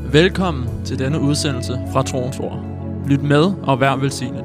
Velkommen til denne udsendelse fra Troens Ord. Lyt med og vær velsignet.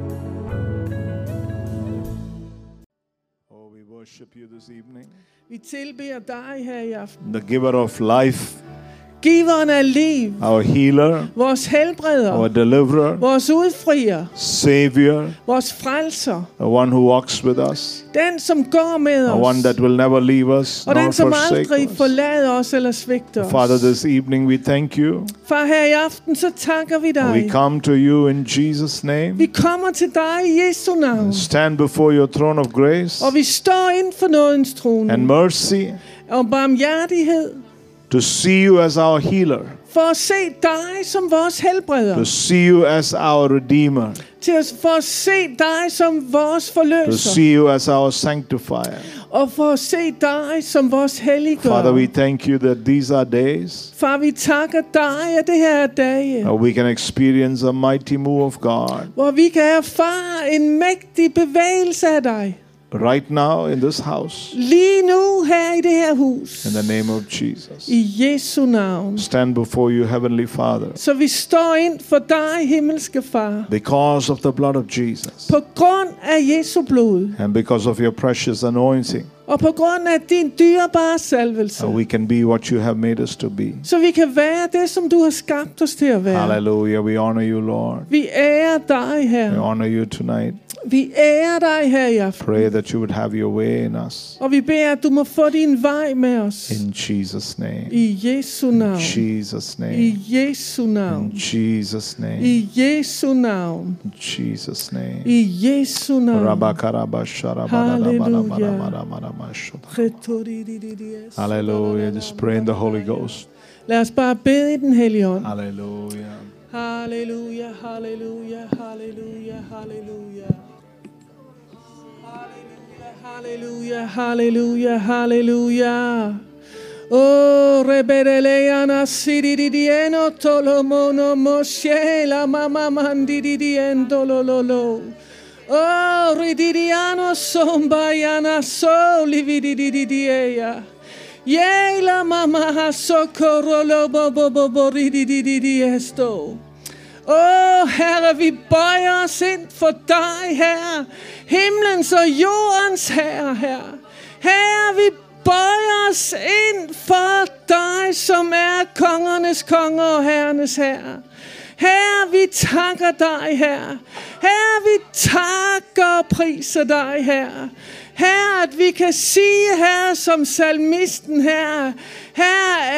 Oh, we worship you this evening. Vi tilbeder dig her i aften. The giver of life, Giveren af liv, our healer, vores helbreder, our deliverer, vores udfrier, savior, vores frelser, the one who walks with us, den som går med the one os, that will never leave us og nor den som forsake aldrig us. forlader os eller svigter Father, os. this evening we thank you. Far, her i aften så takker vi We dig. come to you in Jesus' name. Vi kommer til dig i Jesu navn, Stand before your throne of grace og vi står inden for nådens trone and mercy og barmhjertighed, to see you as our healer, for at se dig som vores helbreder, to see you as our redeemer, for at se dig som vores to forløser, see you as our sanctifier. og for at se dig som vores helliggør. Father, we thank you that these are days Far, vi takker dig, at det her er dage, we can experience a mighty move of God hvor vi kan erfare en mægtig bevægelse af dig. right now in this house, Lige nu her i det her hus. in the name of Jesus. I Jesu navn. Stand before you, Heavenly Father, Så vi står ind for dig, himmelske Far. because of the blood of Jesus På grund af Jesu blod. and because of your precious anointing, Og på grund af din dyrebare salvelse. we can be what you have made us to be. Så vi kan være det, som du har skabt os til at være. Hallelujah. We honor you, Lord. Vi ærer dig We her. honor you tonight. Vi ærer dig her i aften. Pray that you would have your way in us. Og vi beder, at du må få din vej med os. In Jesus' name. I Jesu navn. Jesus' I name. Jesu navn. In Jesus' name. I Jesu navn. In Jesus' name. I Jesu navn. Hallelujah. Just pray in the Holy Ghost. Lad os bare bede i den hellige ånd. Hallelujah. Halleluja, halleluja, halleluja, halleluja. Halleluja, halleluja, halleluja. Oh, rebelleana sididieno tolomono moshela mama mandidiendo lololo. Oh, rididiano sombayana solividididia. Yela mama socorro lobo bobo ridididiesto. Åh, Herre, vi bøjer os ind for dig, Herre. Himlens og jordens Herre, Herre. Herre, vi bøjer os ind for dig, som er kongernes konger og herrenes herre. Herre, vi takker dig, Herre. Herre, vi takker og priser dig, Herre. Herre, at vi kan sige, Herre, som salmisten, Herre. Herre,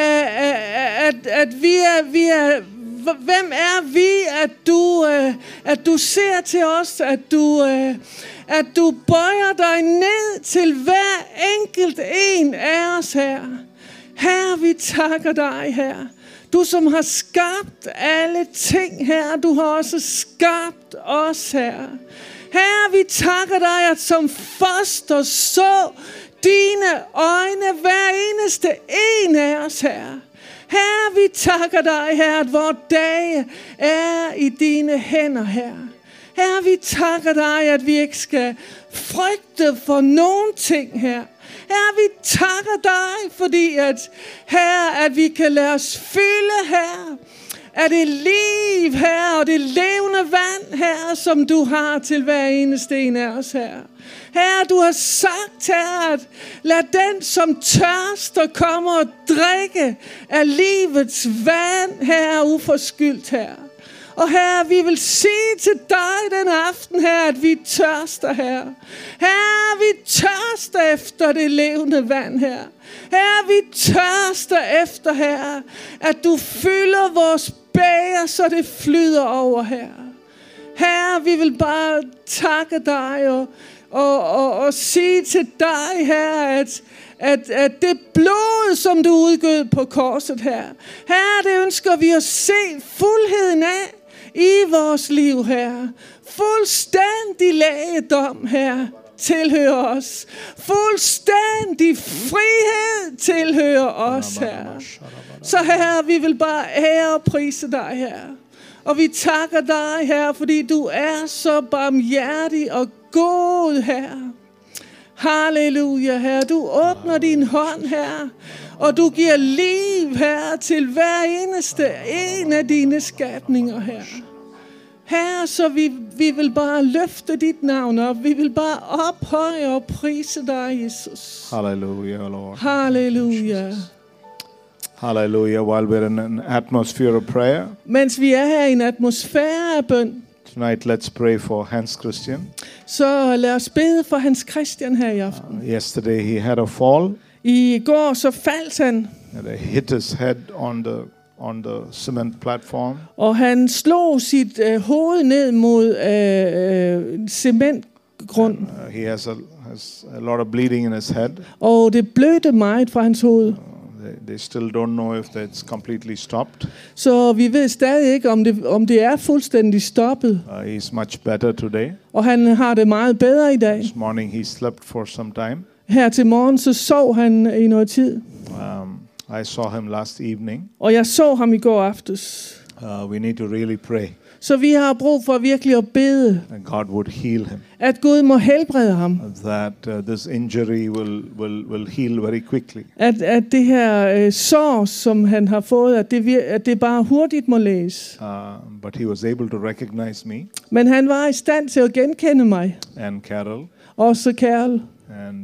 at vi er hvem er vi, at du ser til os, at du bøjer dig ned til hver enkelt en af os, Herre. Herre, vi takker dig, Herre. Du som har skabt alle ting, Herre, du har også skabt os, Herre. Herre, vi takker dig, at som foster så dine øjne hver eneste en af os, Herre. Herre, vi takker dig, Herre, at vores dage er i dine hænder, Herre. Herre, vi takker dig, at vi ikke skal frygte for nogen ting, Herre. Herre, vi takker dig, fordi Herre, at vi kan lade os fylde, Herre, af det liv, Herre, og det levende vand, Herre, som du har til hver eneste en af os, Herre. Herre, du har sagt, Herre, at lad den, som tørster, komme og drikke af livets vand, Herre, uforskyldt, Herre. Og Herre, vi vil sige til dig den aften, Herre, at vi tørster, Herre. Herre, vi tørster efter det levende vand, Herre. Herre, vi tørster efter, Herre, at du fylder vores bæger, så det flyder over, Herre. Herre, vi vil bare takke dig og sige til dig, Herre, at det blod, som du udgød på korset, Herre. Herre, det ønsker vi at se fuldheden af i vores liv, Herre. Fuldstændig lægedom, Herre, tilhører os. Fuldstændig frihed tilhører os, Herre. Så Herre, vi vil bare ære og prise dig, Herre. Og vi takker dig, Herre, fordi du er så barmhjertig og god, Herre. Halleluja, Herre. Du åbner din hånd, Herre, og du giver liv Herre, til hver eneste en af dine skabninger, Herre. Herre, så vi vil bare løfte dit navn op. Vi vil bare ophøje og prise dig, Jesus. Hallelujah, Lord. Halleluja. Hallelujah. While we're in an atmosphere of prayer, Mens vi er her i en atmosfære af bøn, tonight let's pray for Hans Christian. så lad os bede for Hans Christian her i aften. Yesterday he had a fall. I går så faldt han, And he hit his head on the cement platform. og han slog sit hoved ned mod cementgrund. He has a lot of bleeding in his head. Og det blødte meget fra hans hoved. They still don't know if that's completely stopped. Så vi ved stadig ikke, om det er fuldstændig stoppet. He's much better today. Og han har det meget bedre i dag. This morning he slept for some time. Her til morgen, så sov han i noget tid. I saw him last evening. Og jeg så ham i går aftes. We need to really pray Så vi har brug for virkelig at bede, that God would heal him. at Gud må helbrede ham. That this injury will heal very quickly. At det her sår, som han har fået, at det bare hurtigt må læges. But he was able to recognize me Men han var i stand til at genkende mig. and Carol. Også Carol. And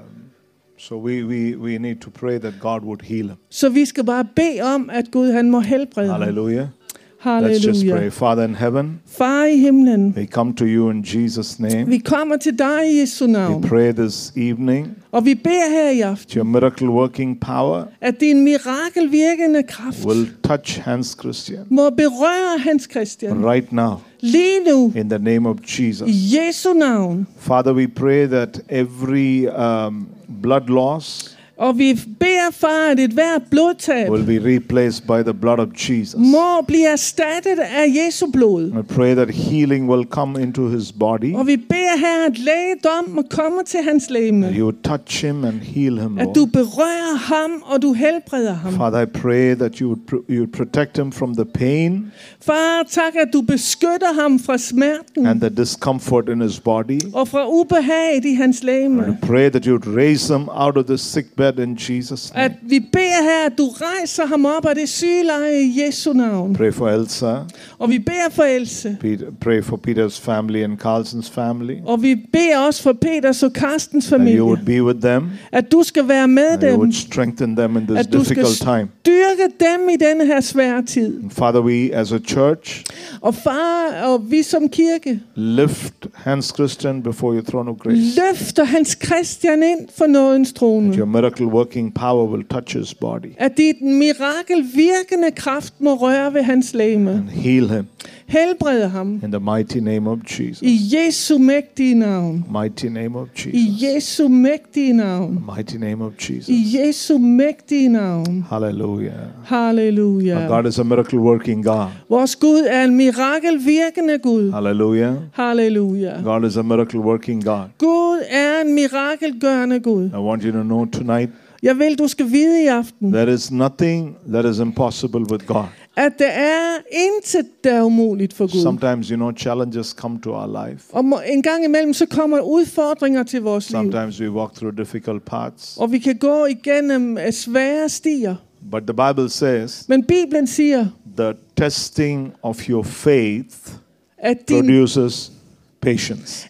so we need to pray that God would heal him. Så vi skal bare bede om, at Gud han må helbrede ham. Hallelujah. Let's just pray. Halleluja. Father in heaven, Far i himlen, we come to you in Jesus' name. vi kommer til dig i Jesu navn. We pray this evening Og vi beder her i aften, that your miracle working power at din mirakelvirkende kraft will touch Hans Christian må berøre Hans Christian right now lige nu in the name of Jesus. i Jesu navn. Father, we pray that every blood loss Og vi beder, far, at et hvert blodtab will be replaced by the blood of Jesus. må blive erstattet af Jesu blod. I pray that healing will come into his body. Og vi beder her, at lægedom må komme til hans legeme. You would touch him and heal him, At Lord. du berører ham, og du helbreder ham. Father, I pray that you would protect him from the pain Far, tak, at du beskytter ham fra smerten and the discomfort in his body. og fra ubehaget i hans I legeme. pray that you would raise him out of the sick bed in Jesus' At name. vi beder her, at du rejser ham op af det sygeleje i Jesu navn. Pray for Elsa. Og vi beder for Else. Pray for Peter's family and Carlson's family. Og vi beder også for Peters og Karstens That familie. you would be with them. At du skal være med And you dem. would strengthen them in this At du skal difficult time. styrke dem i denne her svære tid. And Father, we as a church Og far, og vi som kirke lift Hans Christian before your throne of grace. løfter Hans Christian ind for nådens trone. Your miracle working power will touch his body At dit mirakelvirkende kraft må røre ved hans legeme. and heal him Helbrede ham. in the mighty name of Jesus. I Jesu mægtige navn. Mighty name of I Jesus. Jesu mægtige navn. Mighty name of Jesus. I Jesu mægtige navn. Hallelujah. Halleluja. Our God is a miracle working God. Vores Gud er en mirakelvirkende Gud. Hallelujah. Halleluja. God is a miracle working God. Gud er en mirakelgørende Gud. I want you to know tonight Jeg vil, du skal vide i aften, there is nothing that is impossible with God. at der er intet, der er umuligt for Gud. Sometimes, challenges come to our life. Og en gang imellem, så kommer udfordringer til vores liv. Sometimes we walk through difficult paths. Og vi kan gå igennem svære stier. But the Bible says Men Bibelen siger, the testing of your faith at produces patience.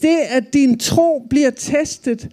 at din tro bliver testet,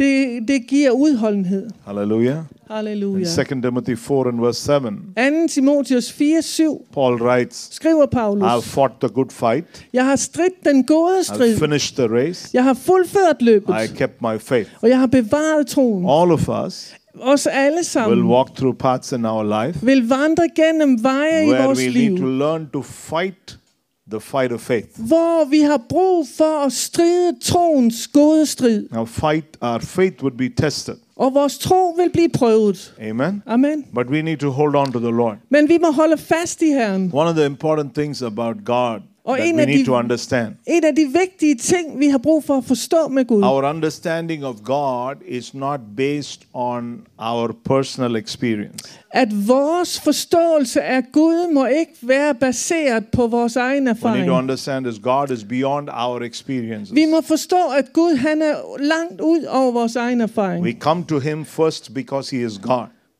det giver udholdenhed. Hallelujah. Halleluja. In 2 Timothy 4 and verse 7, 2. Timotheus 4:7 Paul writes, skriver Paulus, I have fought the good fight. jeg har stridt den gode I strid. have finished the race. Jeg har fuldført løbet. I kept my faith. Og jeg har bevaret troen. All of us Os alle will sammen walk through paths in our life vil vandre gennem veje i where vores we liv, need to learn to fight the fight of faith. hvor vi har brug for at stride troens gode strid. Now our faith would be tested. Og vores tro vil blive prøvet. Amen. Amen. But we need to hold on to the Lord. Men vi må holde fast i Herren. One of the important things about God Og that en we af need de- to understand. En af de vigtige ting, vi har brug for at forstå med Gud, Our understanding of God is not based on our personal experience. at vores forståelse af Gud må ikke være baseret på vores egen We need to erfaring. understand is God is beyond our experiences. Vi må forstå, at Gud han er langt ud over vores egen erfaring. We come to Him first because He is God.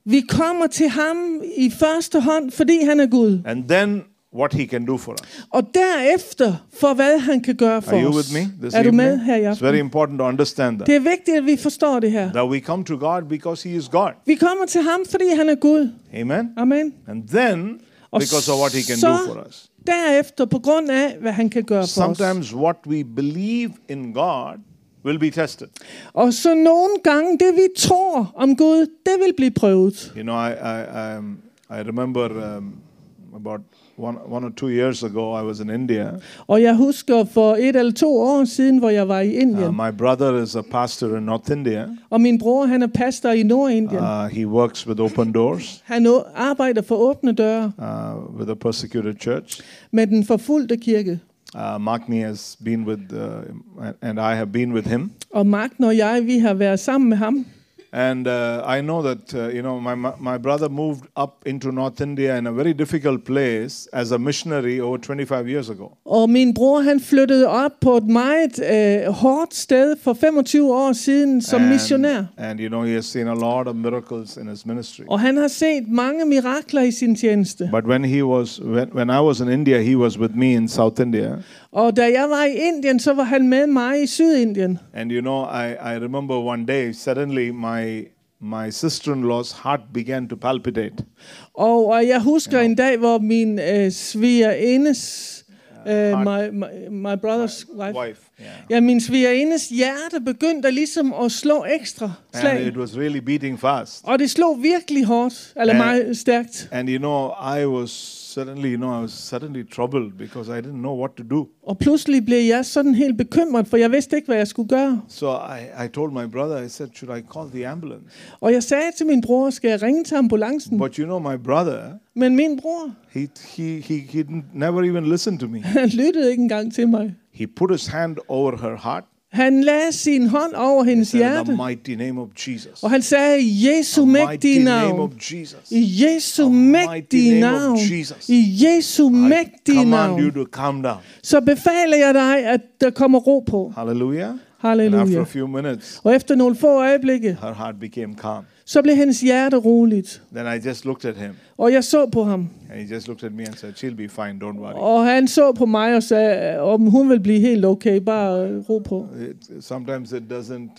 Vi kommer til ham i første hånd, fordi han er Gud. And then what he can do for us. Og derefter for hvad han kan gøre for Are you os. with me this Er du med evening? her i It's very aften? important to understand that. Det er vigtigt, at vi forstår det her. That we come to God because he is God. Vi kommer til ham, fordi han er Gud. Amen. Amen. And then Og because of what he can så do for us. derefter på grund af, hvad han kan gøre for os. Sometimes what we believe in God will be tested. Og så nogle gange, det vi tror om Gud, det vil blive prøvet. You know, I remember about one or 2 years ago, I was in India. Og jeg husker for 1 eller 2 år siden, hvor jeg var i Indien. My brother is a pastor in North India. Og min bror, han er pastor i Nordindien. He works with Open Doors, Han arbejder for åbne døre with a persecuted church. med den forfulgte kirke. Magni has been with, and I have been with him. Og Magten og jeg, vi har været sammen med ham. And I know that, my brother moved up into North India in a very difficult place as a missionary over 25 years ago. Og min bror, han flyttede op på et meget hårdt sted for 25 år siden som missionær. And he has seen a lot of miracles in his ministry. Og han har set mange mirakler i sin tjeneste. But when I was in India, he was with me in South India. Og da jeg var i Indien, så var han med mig i Sydindien. And I remember one day, suddenly my sister-in-law's heart began to palpitate. Og jeg husker en dag, hvor min svigerindes, my brother's wife. Ja, min svigerindes hjerte begyndte ligesom at slå ekstra slag. And it was really beating fast. Og det slog virkelig hårdt, eller meget stærkt. And I was suddenly troubled because I didn't know what to do. Og pludselig blev jeg sådan helt bekymret, for jeg vidste ikke, hvad jeg skulle gøre. So I told my brother, I said, should I call the ambulance? Og jeg sagde til min bror, skal jeg ringe til ambulancen? But my brother, Men min bror, he never even listened to me. han lyttede ikke engang til mig. He put his hand over her heart. Han lagde sin hånd over hendes hjerte. In the mighty name of Jesus. Og han sagde, i Jesu mægtige navn. I Jesu mægtige navn. I Jesu mægtige navn. You to calm down. Så befaler jeg dig, at der kommer ro på. Hallelujah. Halleluja. And after a few minutes, og efter nogle få øjeblikke, her heart became calm. Så blev hendes hjerte roligt. Then I just looked at him. Og jeg så på ham. And he just looked at me and said, "She'll be fine, don't worry." Og han så på mig og sagde, om hun vil blive helt okay, bare ro på. Sometimes it doesn't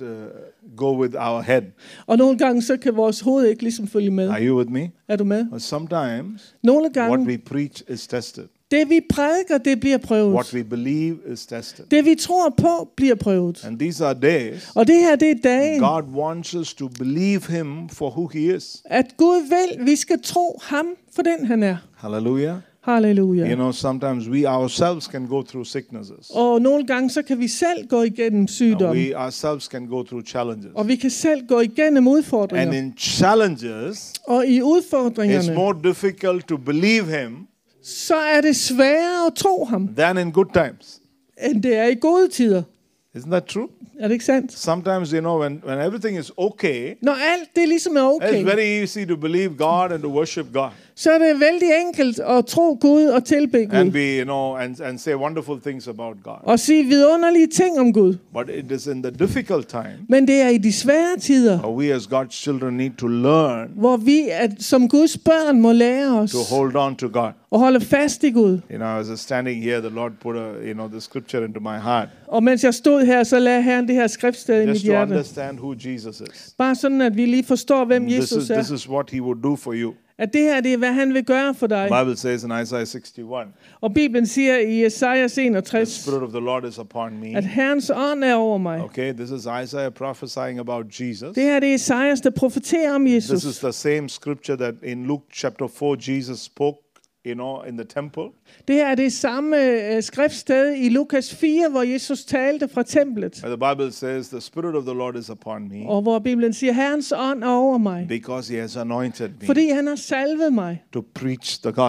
go with our head. Og nogle gange så kan vores hoved ikke ligesom følge med. Are you with me? Er du med? But sometimes nogle gange, what we preach is tested. Det vi prædiker, det bliver prøvet. What we believe is tested. Det vi tror på bliver prøvet. And these are days. Og det her, det er dagen. God wants us to believe him for who he is. At Gud vil, vi skal tro ham for den han er. Hallelujah. Halleluja. Sometimes we ourselves can go through sicknesses. Og nogle gange så kan vi selv gå igennem sygdom. We ourselves can go through challenges. Og vi kan selv gå igennem udfordringer. And in challenges, og i udfordringerne, it's more difficult to believe him. Så er det sværere at tro ham. Than in good times. End det er i gode tider. Isn't that true? Er det ikke sandt? Sometimes, when everything is okay, når alt det ligesom er okay, it's very easy to believe God and to worship God. Så er det vældig enkelt at tro Gud og tilbe Gud. And be, and say wonderful things about God. Og sige vidunderlige ting om Gud. But it is in the difficult time. Men det er i de svære tider. We as God's children need to learn. Hvor vi som Guds børn må lære os. To hold on to God. Og holde fast i Gud. As I was standing here, the Lord put the scripture into my heart. Og mens jeg stod her, så lagde Herren det her skriftsted i mit hjerte. Just to understand who Jesus is. Bare sådan at vi lige forstår hvem Jesus er. This is what he would do for you. At det her, det er hvad han vil gøre for dig. The Bible says in Isaiah 61. Og Bibelen siger i Esajas 61. The Spirit of the Lord is upon me. At Herrens ånd er over mig. Okay, this is Isaiah prophesying about Jesus. Det her det er Esajas der profeterer om Jesus. This is the same scripture that in Luke chapter 4 Jesus spoke. In the temple. Det her er det samme skriftsted i Lukas 4, hvor Jesus talte fra templet. The Bible says the Spirit of the Lord is upon me. Og hvor Bibelen siger, Herrens ånd er over mig. Because he has anointed me. Fordi han har salvet mig. To preach the gospel.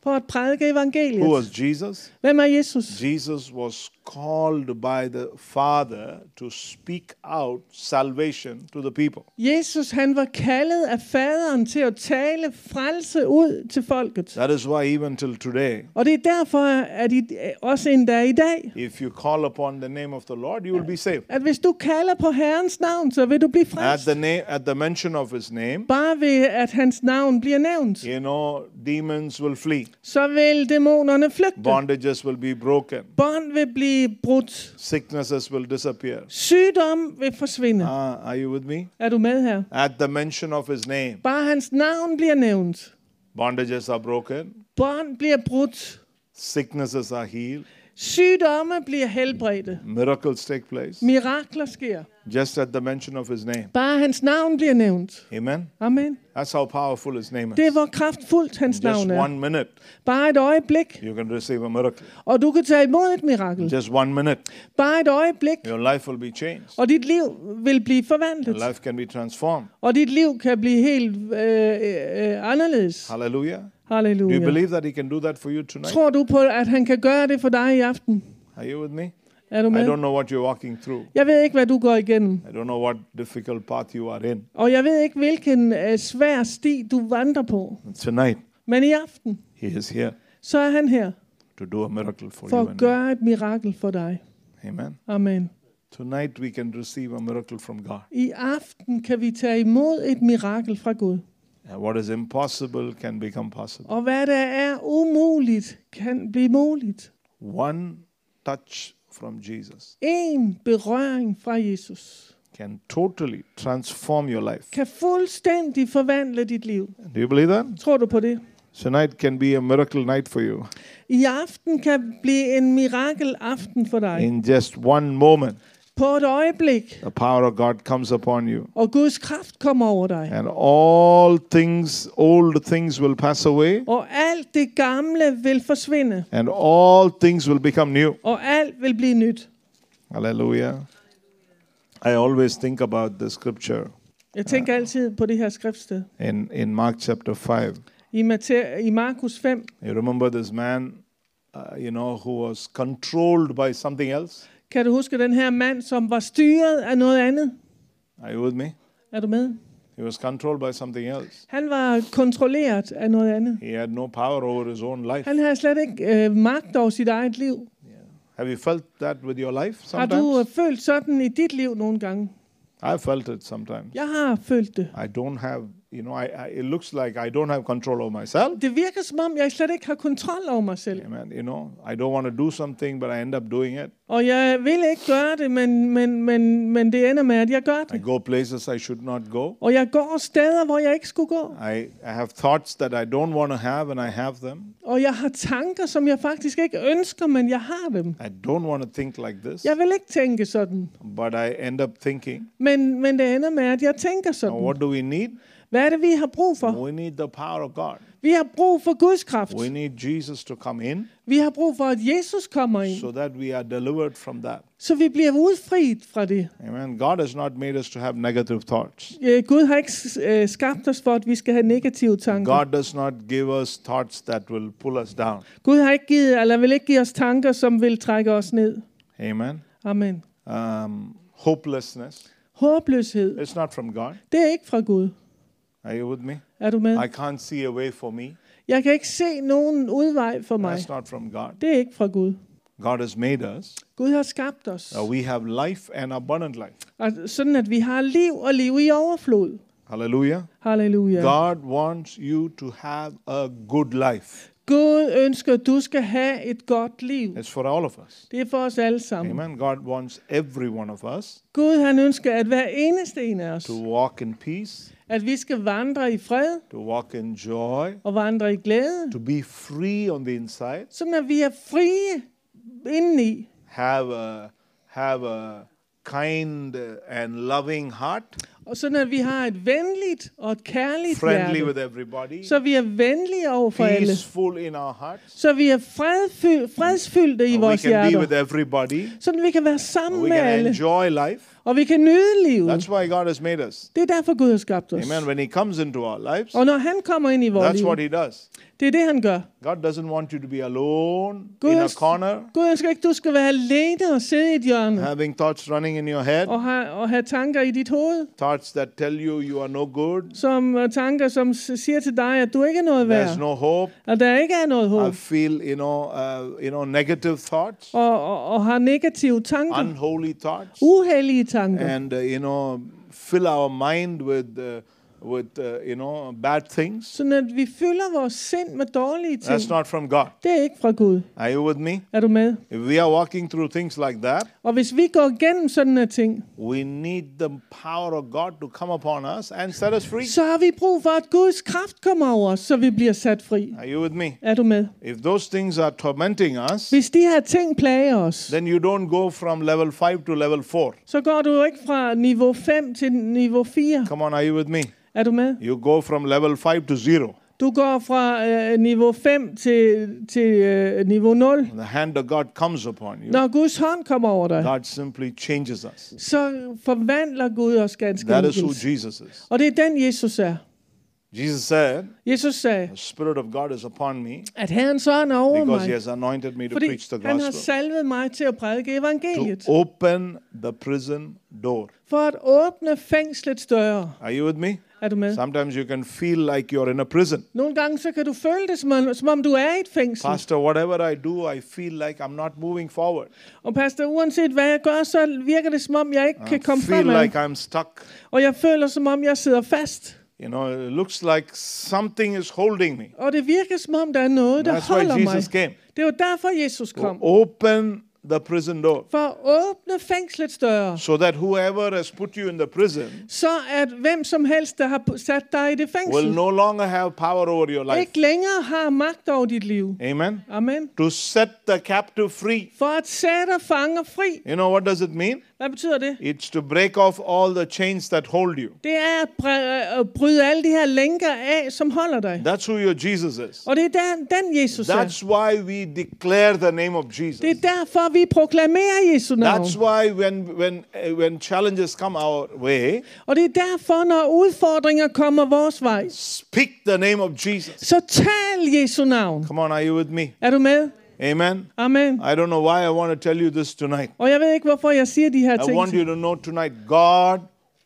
for at prædike Who evangeliet. was Jesus? Hvem er Jesus? Jesus was called by the Father to speak out salvation to the people. Jesus, han var kaldet af faderen til at tale frelse ud til folket. That is why even till today, Og det er derfor, at også endda i dag, if you call upon the name of the Lord, you will be saved. at hvis du kalder på Herrens navn, så vil du blive frelst. At the mention of his name, Bare ved, at hans navn bliver nævnt, demons will flee. så vil dæmonerne flygte. Bondages will be broken. Bånd vil blive brudt. Sicknesses will disappear. Sygdom vil forsvinde. Are you with me? Er du med her? At the mention of his name, Bare hans navn bliver nævnt. bondages are broken. Bånd bliver brudt. Sicknesses are healed. Sygdomme bliver helbredte. Miracles take place. Mirakler sker. Just at the mention of his name. Bare hans navn bliver nævnt. Amen. Amen. That's how powerful his name is. Det er, hvor kraftfuldt hans Just navn er. 1 minute, Bare et øjeblik, you can receive a miracle. og du kan tage imod et mirakel. Just 1 minute, Bare et øjeblik, your life will be changed. og dit liv vil blive forvandlet. Your life can be transformed. Og dit liv kan blive helt anderledes. Hallelujah. Do you Halleluja. believe that he can do that for you tonight? Tror du på, at han kan gøre det for dig i aften? Are you with me? Er du I med? don't know what you're walking through. Jeg ved ikke, hvad du går igennem. I don't know what difficult path you are in. Og jeg ved ikke, hvilken svær sti du vandrer på. Tonight, Men i aften, he is here så er han her to do a miracle for for you at and me. gøre et mirakel for dig. Amen. Amen. Tonight we can receive a miracle from God. I aften kan vi tage imod et mirakel fra Gud. What is impossible can become possible. Og hvad der er umuligt, kan blive muligt. One touch from Jesus En berøring fra Jesus can totally transform your life. kan fuldstændig forvandle dit liv. Do you believe that? Tror du på det? Tonight can be a miracle night for you. I aften kan blive en mirakel aften for dig. In just one moment, På et øjeblik, the power of God comes upon you. og Guds kraft kommer over dig. And all things, old things will pass away. Og alt det gamle vil forsvinde. And all things will become new. Og alt vil blive nyt. Hallelujah. I always think about the scripture Jeg tænker altid på det her skriftsted. in Mark chapter 5. I Markus 5. You remember this man, who was controlled by something else? Kan du huske den her mand, som var styret af noget andet? Are you with me? Er du med? He was controlled by something else. Han var kontrolleret af noget andet. He had no power over his own life. Han havde slet ikke magt over sit eget liv. Have you felt that with your life Har du sometimes? følt sådan i dit liv nogle gange? I've felt it sometimes. Jeg har følt det. I don't have, it looks like I don't have control over myself. Det virker som om, jeg slet ikke har kontrol over mig selv. Amen. I don't want to do something, but I end up doing it. Og jeg vil ikke gøre det, men det ender med, at jeg gør I det. go places I should not go. Og jeg går steder, hvor jeg ikke skulle gå. I have thoughts that I don't want to have, and I have them. Og jeg har tanker, som jeg faktisk ikke ønsker, men jeg har dem. I don't want to think like this, Jeg vil ikke tænke sådan. but I end up thinking. Men det ender med, at jeg tænker Now, sådan. what do we need? Hvad er det, vi har brug for? We need the power of God. Vi har brug for Guds kraft. We need Jesus to come in Vi har brug for, at Jesus kommer ind, so that we are delivered from that. så vi bliver udfriet fra det. Amen. God has not made us to have negative thoughts. Gud har ikke skabt os for, at vi skal have negative tanker. God does not give us thoughts that will pull us down. Gud har ikke givet, eller vil ikke give os tanker, som vil trække os ned. Amen. Amen. Hopelessness. Håbløshed, It's not from God. det er ikke fra Gud. Are you with me? Er du med? I can't see a way for me. Jeg kan ikke se nogen udvej for mig. That's not from God. Det er ikke fra Gud. God has made us. Gud har skabt os. We have life and abundant life. Og sådan, at vi har liv og liv i overflod. Hallelujah. Halleluja. God wants you to have a good life. Gud ønsker, at du skal have et godt liv. It's for all of us. Det er for os alle sammen. Amen. God wants every one of us Gud han ønsker, at hver eneste en af os, to walk in peace, at vi skal vandre i fred to walk in joy, og vandre i glæde, to be free on the inside, sådan at vi er frie indeni, have a kind and loving heart, Og sådan at vi har et venligt og et kærligt friendly hjerte. with everybody, Så vi er venlige over for alle. peaceful in our hearts. Så vi er fredsfyldte i We vores can be hjerter. with everybody. Sådan vi kan være sammen We med can alle. enjoy life. Og vi kan nyde livet. That's why God has made us. Det er derfor Gud har skabt os. Amen. When He comes into our lives, Og når han kommer ind i vores that's liv, what He does. det er det han gør. God doesn't want you to be alone Gud in a ønsker- corner, Gud ønsker ikke, du skal være alene og sidde i et hjørne. having thoughts running in your head, Og have tanker i dit hoved. thoughts that tell you are no good, Tanker, som siger til dig, at du ikke er noget værd. there's no hope. At der ikke er noget I håb. feel, negative thoughts, Og har negative tanker. unholy thoughts, Uheldige tanker. and fill our mind with bad things. Sådan at vi fylder vores sind med dårlige ting. That's not from God. Det er ikke fra Gud. Are you with me? Er du med? If we are walking through things like that, Og hvis vi går igennem sådan en ting, we need the power of God to come upon us and set us free. så har vi brug for, at Guds kraft kommer over os, så vi bliver sat fri. Are you with me? Er du med? If those things are tormenting us, Hvis de her ting plager os, then you don't go from level 5 to level 4. så går du jo ikke fra niveau 5 til niveau 4. Come on, are you with me? Er du med? You go from level 5 to 0. Du går fra niveau 5 til niveau 0. The hand of God comes upon you. Når Guds hånd kommer over dig, God simply changes us. så forvandler Gud os ganske That is who enkelt. Jesus is. Og det er den, Jesus er. Jesus said, Jesus sagde, the Spirit of God is upon me at Herrens ånd er over because He mig, has anointed me to fordi preach the han har gospel, salvet mig til at prædike evangeliet. to open the prison door. For at åbne fængslets døre. Are you with me? Er du med? Sometimes you can feel like you're in a prison. Nogle gange så kan du føle det, som om du er i et fængsel. Pastor, whatever I do, I feel like I'm not moving forward. Og pastor, uanset hvad jeg gør, så virker det, som om jeg ikke kan I komme feel fremad. like I'm stuck. Og jeg føler, som om jeg sidder fast. It looks like something is holding me. Og det virker, som om der er noget, der That's why holder mig. Jesus came. Det var derfor, Jesus kom. Open the prison door For at åbne fængslets døre. so that whoever has put you in the prison Så at hvem som helst, der har sat dig i det will fængsel, no longer have power over your life. ikke længere har magt over dit liv. Amen. Amen. To set the captive free. For at sætte fanger fri. You know what does it mean? Hvad betyder det? It's to break off all the chains that hold you. Det er at bryde alle de her lænker af, som holder dig. That's who your Jesus is. Og det er den Jesus er. That's why we declare the name of Jesus. Det er derfor, vi proklamerer Jesu navn. That's why when challenges come our way, Og det er derfor, når udfordringer kommer vores vej, speak the name of Jesus. så tal Jesu navn. Come on, are you with me? Er du med? Amen. Amen. I don't know why I want to tell you this tonight. Og jeg ved ikke, hvorfor jeg siger de her I ting. want you to know tonight, God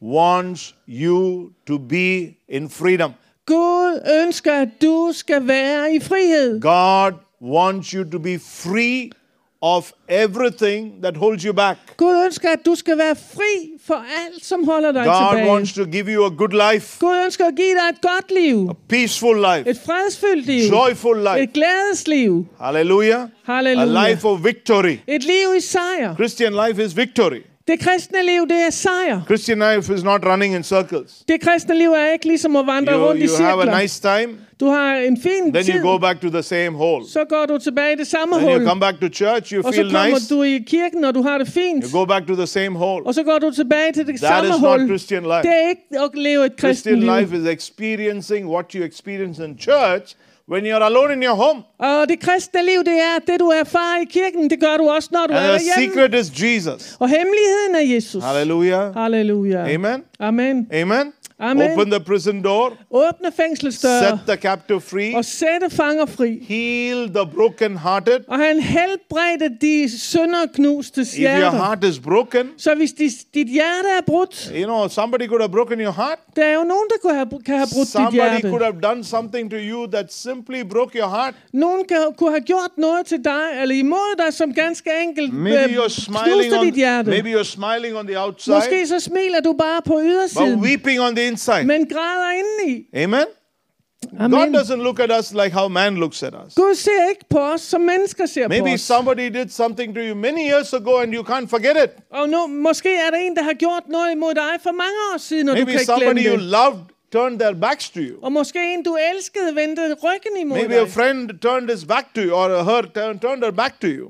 wants you to be in freedom. Gud ønsker, at du skal være i frihed. God wants you to be free of everything that holds you back. Gud ønsker, at du skal være fri for alt, som holder dig God tilbage. wants to give you a good life, Gud ønsker at give dig et godt liv. a peaceful life, Et fredsfyldt liv. joyful life. Et glædesliv. Hallelujah. Halleluja. A life of victory. Et liv i sejr. Christian life is victory. Det kristne liv, det er sejr. Christian life is not running in circles. Det kristne liv er ikke ligesom at vandre rundt i You have a cirkler. nice time, Du har en fin then tid, you go back to the same hole. så går du tilbage i det samme Then you hul. come back to church, you Og så feel kommer nice, du i kirken, og du har det fint. you go back to the same hole. Og så går du tilbage til det That samme is not hul. Christian life. Det er ikke at leve et kristent Christian liv. life is experiencing what you experience in church when you're alone in your home. Og det kristne liv, det er det, du erfarer i kirken. Det gør du også, når du er And the derhjemme. secret is Jesus. Og hemmeligheden er Jesus. Hallelujah. Halleluja. Amen. Amen. Amen. Amen. Open the prison door. Åbne fængslets Set døre the captive free. og sætte fanger fri. Heal the broken-hearted. Og han helbredte de sønderknuste If your hjerter. heart is broken, Så hvis dit hjerte er brudt, somebody could have broken your heart. der er jo nogen, der kan have brudt dit Somebody hjerte. could have done something to you that simply broke your heart. Nogen kunne have gjort noget til dig, eller imod dig, som ganske enkelt Maybe you're smiling knuste dit hjerte. maybe you're smiling on the outside, Måske så smiler du bare på but ydersiden, weeping on the inside. men græder indeni. Amen. Amen. God doesn't look at us like how man looks at us. Gud ser ikke på os, som mennesker ser på Maybe os. somebody did something to you many years ago and you can't forget it. Og nu, måske er der en, der har gjort noget imod dig for mange år siden, og du kan Maybe ikke somebody glemme you det. loved turned their backs to you. Og måske en, du elskede, vendte ryggen imod Maybe a dig. friend turned his back to you, or her turned her back to you.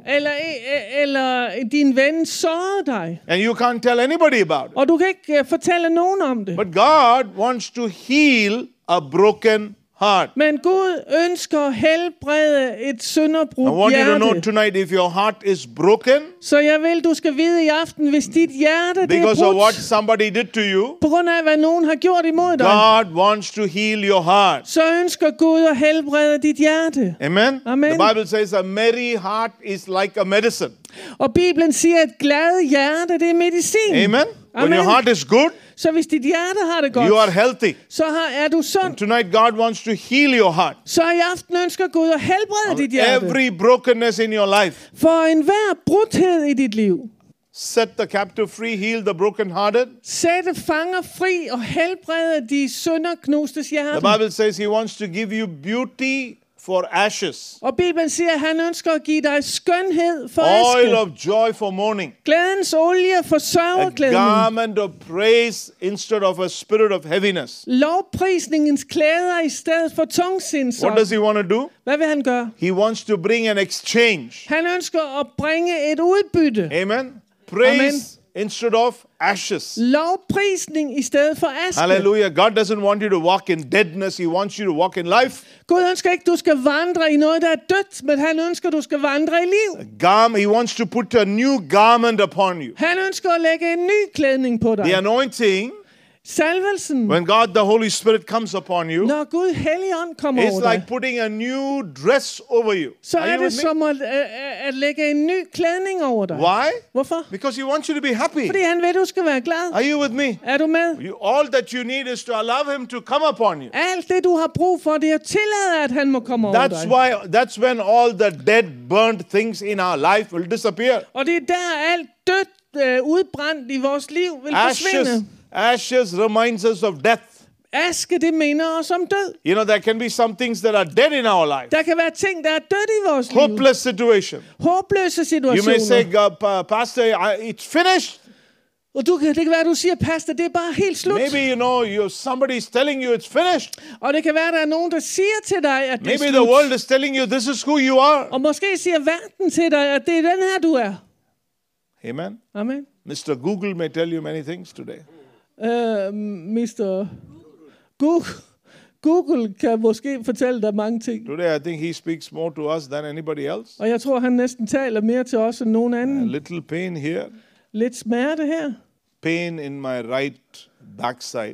Eller din ven sårede dig. And you can't tell anybody about it. Og du kan ikke fortælle nogen om det. But God wants to heal a broken heart. Men Gud ønsker at helbrede et I sønderbrudt want you to know hjerte. tonight, if your heart is broken Så jeg vil, du skal vide i aften, hvis dit hjerte det er because of what brudt, somebody did to you, på grund af, hvad nogen har gjort imod dig, God wants to heal your heart. så ønsker Gud at helbrede dit hjerte. Amen? Amen. The Bible says a merry heart is like a medicine. Og Bibelen siger, at et glad hjerte, det er medicin. Amen? When Amen. your heart is good, Så hvis dit hjerte har det godt, you are healthy. så er du sund. Tonight, God wants to heal your heart. Så i aften ønsker Gud at helbrede dit hjerte. Every brokenness in your life. For enhver brudhed i dit liv. Set the captive free, heal the brokenhearted. Sætte fanger fri og helbrede de sønderknustes hjerte. The Bible says He wants to give you beauty for ashes, Og Bibelen siger, at han ønsker at give dig skønhed for oil aske. of joy for mourning, Glædens olie for a sørgeklædning. garment of praise instead of a spirit of heaviness. Lovprisningens klæder i stedet for tungsindsånd. What does He want to do? Hvad vil han gøre? He wants to bring an exchange. Han ønsker at bringe et udbytte. Amen. Praise instead of ashes. Lovprisning i stedet for aske. Hallelujah. God doesn't want you to walk in deadness. He wants you to walk in life. Gud ønsker ikke, du skal vandre i noget, der er dødt, men han ønsker, du skal vandre i liv. He wants to put a new garment upon you. Han ønsker at lægge en ny klædning på dig. The anointing, Salvelsen, when God the Holy Spirit comes upon you, når Gud Helligånd kommer over it's dig, like putting a new dress over you. så Are er you det with me? som at lægge en ny klædning over dig. Why? Hvorfor? Because He wants you to be happy. Fordi han vil, du skal være glad. Are you with me? Er du med? All that you need is to allow Him to come upon you. Alt det, du har brug for, det er at tillade, at han må komme over dig. That's when all the dead, burnt things in our life will disappear. Og det er der, alt dødt, udbrændt i vores liv vil forsvinde. Ashes reminds us of death. Aske, det minder os om død. You know, there can be some things that are dead in our life. Der kan være ting, der er dødt i vores liv. Hopeless situation. Håbløse You may say, situationer. Pastor, it's finished. Og det kan være, at du siger, pastor, det er bare helt slut. Maybe, somebody's telling you it's finished. Og det kan være, at der er nogen, der siger til dig, at det Maybe er the slut. world is telling you this is who you are. Og måske siger verden til dig, at det er den her, du er. Amen. Amen. Mr. Google may tell you many things today. Mr. Google kan måske fortælle dig mange ting. Today, I think he speaks more to us than anybody else. Og jeg tror, han næsten taler mere til os end nogen A anden. little pain here, Lidt smerte her. pain in my right backside.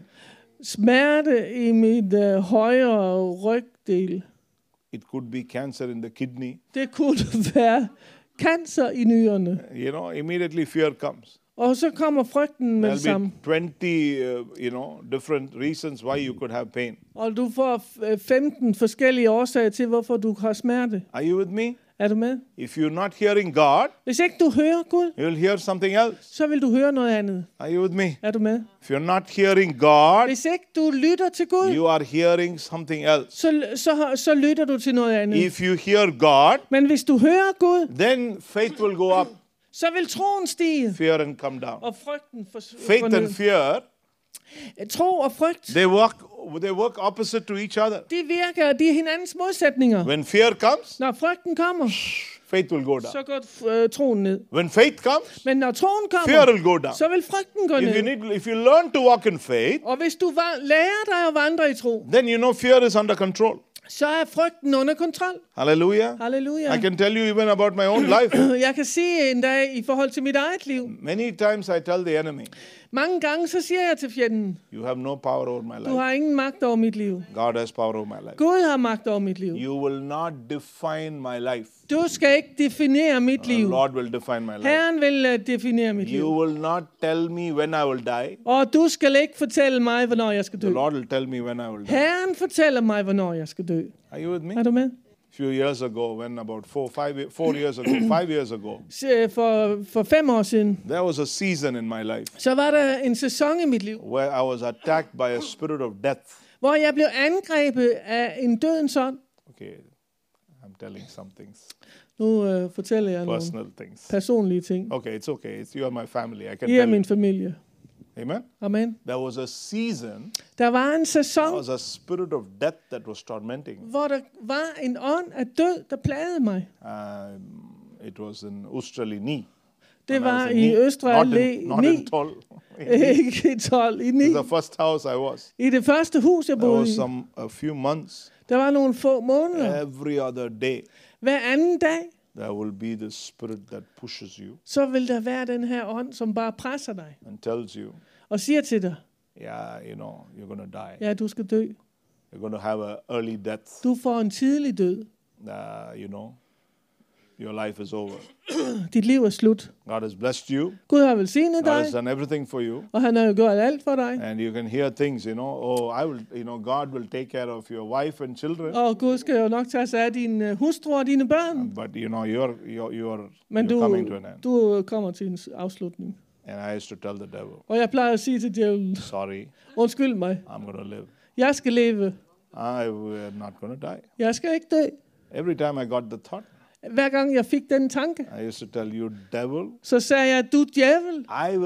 Smerte i mit højre rygdel. It could be cancer in the kidney. Det kunne være cancer i nyrerne. Immediately fear comes. Og så kommer frygten med det There'll samme. be 20, different reasons why you could have pain. Og du får 15 forskellige årsager til, hvorfor du har smerte. Are you with me? Er du med? If you're not hearing God, Hvis ikke du hører Gud, you'll hear something else. så vil du høre noget andet. Are you with me? Er du med? If you're not hearing God, Hvis ikke du lytter til Gud, you are hearing something else. så lytter du til noget andet. If you hear God, Men hvis du hører Gud, then faith will go up, så vil troen stige, fear and come down. og frygten Faith and forned. fear, Tro og frygt, they work opposite to each other. de er hinandens modsætninger. When fear comes, Når frygten kommer, faith will go down. så går troen ned. When faith comes, Men når troen fear kommer, will go down. så vil frygten gå ned. If you learn to walk in faith, Og hvis du lærer dig at vandre i tro, then you know fear is under control. så er frygten under kontrol. Hallelujah. Halleluja. I can tell you even about my own life. Jeg kan sige en dag i forhold til mit eget liv. Many times I tell the enemy, Mange gange så siger jeg til fjenden, you have no power over my du life. har ingen magt over mit liv. God has power over my life. Gud har magt over mit liv. You will not define my life. Du skal ikke definere mit The liv. Lord will define my life. Herren vil definere mit liv. You will not tell me when I will die. Og du skal ikke fortælle mig, hvornår jeg skal dø. The Lord will tell me when I will die. Herren fortæller mig, hvornår jeg skal dø. Are you with me? Er du med? A few years ago, when about 4 years ago, 5 years ago, For 5 år siden, there was a season in my life så var der en sæson i mit liv, where I was attacked by a spirit of death. hvor jeg blev angrebet af en dødens ånd. Okay, I'm telling some things, Nu fortæller jeg nogle personal things. personlige ting. Okay, it's okay. You are my family. I can I er tell you. min familie. Amen. Amen. There was a season, Der var en there sæson, was a spirit of death that was tormenting me. hvor der var en ånd af død, der plagede mig. It was in Australia. Det var i Østre Allé Not 9. in 12. Ikke i 12, i 9. It's the first house I was. I det første hus, jeg There boede was i. a few months. Der var nogle få måneder. Every other day, Hver anden dag, there will be this spirit that pushes you så vil der være den her ånd, som bare presser dig and tells you, og siger til dig, yeah, you're going to die. ja, du skal dø. You're going to have an early death. Du får en tidlig død. Your life is over. Dit liv er slut. God has blessed you. Gud har velsignet God dig, has done everything for you. og han har jo gjort alt for dig. And you can hear things, God will take care of your wife and children. Og Gud skal jo nok tage sig af din hustru og dine børn. But you're Men coming to an end. du kommer til en afslutning. And I used to tell the devil, Og jeg plejer at sige til djævlen, sorry, undskyld mig, I'm going to live. jeg skal leve. I'm not going to die. Jeg skal ikke dø. Every time I got the thought, Hver gang jeg fik den tanke, I used to tell you, devil, så sagde jeg, du djævel,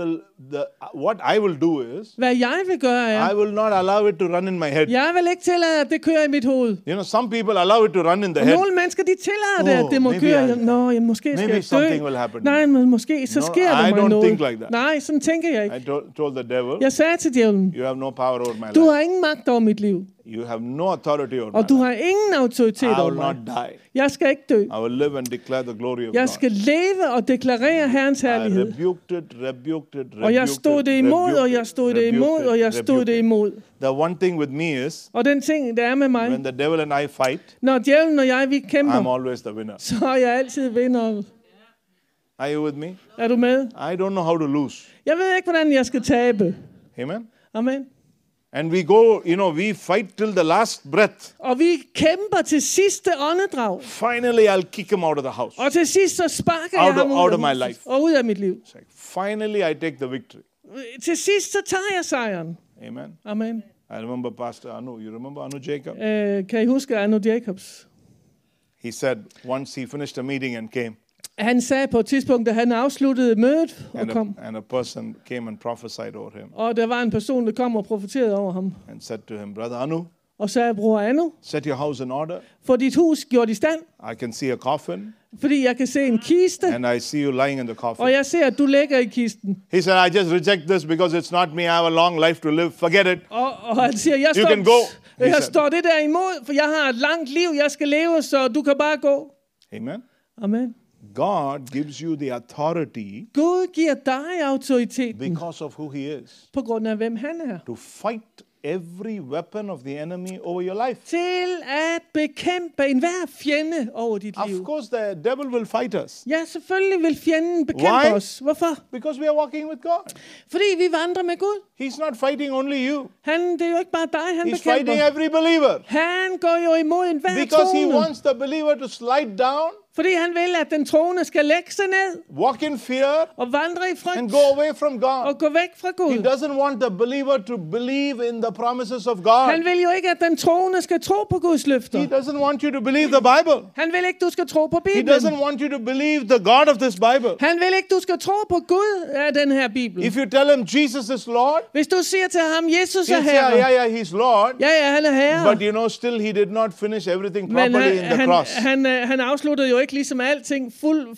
what I will do is, hvad jeg vil gøre er, I will not allow it to run in my head. jeg vil ikke tillade, at det kører i mit hoved. Some people allow it to run in the head. Nogle mennesker, de tillader det, at det må køre. Måske skal jeg something dø. will happen. Nej, men måske så sker der I mig don't noget. think like that. Nej, sådan tænker jeg ikke. I told the devil, Jeg sagde til djævlen, you have no power over my du life. har ingen magt over mit liv, You have no authority over og my du life. har ingen autoritet I over will mig. not die. Jeg skal ikke dø. I will live and declare the glory of Jeg God. skal leve og deklarere Herrens I herlighed. rebuked it. Og jeg stod det imod, og jeg stod det imod, og jeg stod det imod. The one thing with me is, Og den ting, der er med mig, when the devil and I fight, når djævlen og jeg, vi I'm kæmper, always the winner. så er jeg altid vinder. Are you with me? Er du med? I don't know how to lose. Jeg ved ikke, hvordan jeg skal tabe. Amen? Amen. And we go, we fight till the last breath. Og vi kæmper til sidste åndedrag. Finally, I'll kick him out of the house. Og til sidst så sparker jeg ham out of ud my af huset life. og ud af mit liv. Finally, I take the victory. Til sidst så tager jeg sejren. Amen. Amen. I remember Pastor Anu. You remember Anu Jacob? Kan I huske Anu Jacobs? He said once he finished a meeting and came, Han sagde på et tidspunkt, da han afsluttede mødet og kom, and a person came and prophesied over him og der var en person, der kom og profeterede over ham, and said to him, Brother Anu, og sagde, bror Anu, set your house in order. få dit hus gjort i stand, I can see a coffin fordi jeg kan se en kiste, and I see you lying in the coffin. og jeg ser, at du ligger i kisten. He said, I just reject this because it's not me. I have a long life to live. Forget it. Og han siger, You can go, he jeg said. står det der imod, for jeg har et langt liv, jeg skal leve, så du kan bare gå. Amen. Amen. God gives you the authority Gud giver dig autoriteten because of who he is på grund af, hvem han er. to fight every weapon of the enemy over your life. Til at bekæmpe enhver fjende over dit Of liv. course, the devil will fight us Ja, selvfølgelig vil fjenden bekæmpe Why? os. Hvorfor? because we are walking with God. Fordi vi vandrer med Gud. He's not fighting only you. Det er jo ikke bare dig, han He's fighting bekæmper. every believer Han går jo imod enhver because he troende. wants the believer to slide down, Fordi han vil, at den troende skal lægge sig ned walk in fear, og vandre i and frygt go away from God. og gå væk fra He Gud. doesn't want the believer to believe in the promises of God. Han vil jo ikke, at den troende skal tro på Guds løfter. He doesn't want you to believe the Bible. Han vil ikke, du skal tro på He Bibelen. doesn't want you to believe the God of this Bible. Han vil ikke, du skal tro på Gud af den her Bibel. If you tell him Jesus is Lord, Hvis du siger til ham, Jesus er he'll say, herre. yeah, he's Lord. Ja, han er herre. But still he did not finish everything Men properly in the cross. han afsluttede jo ikke ligesom alting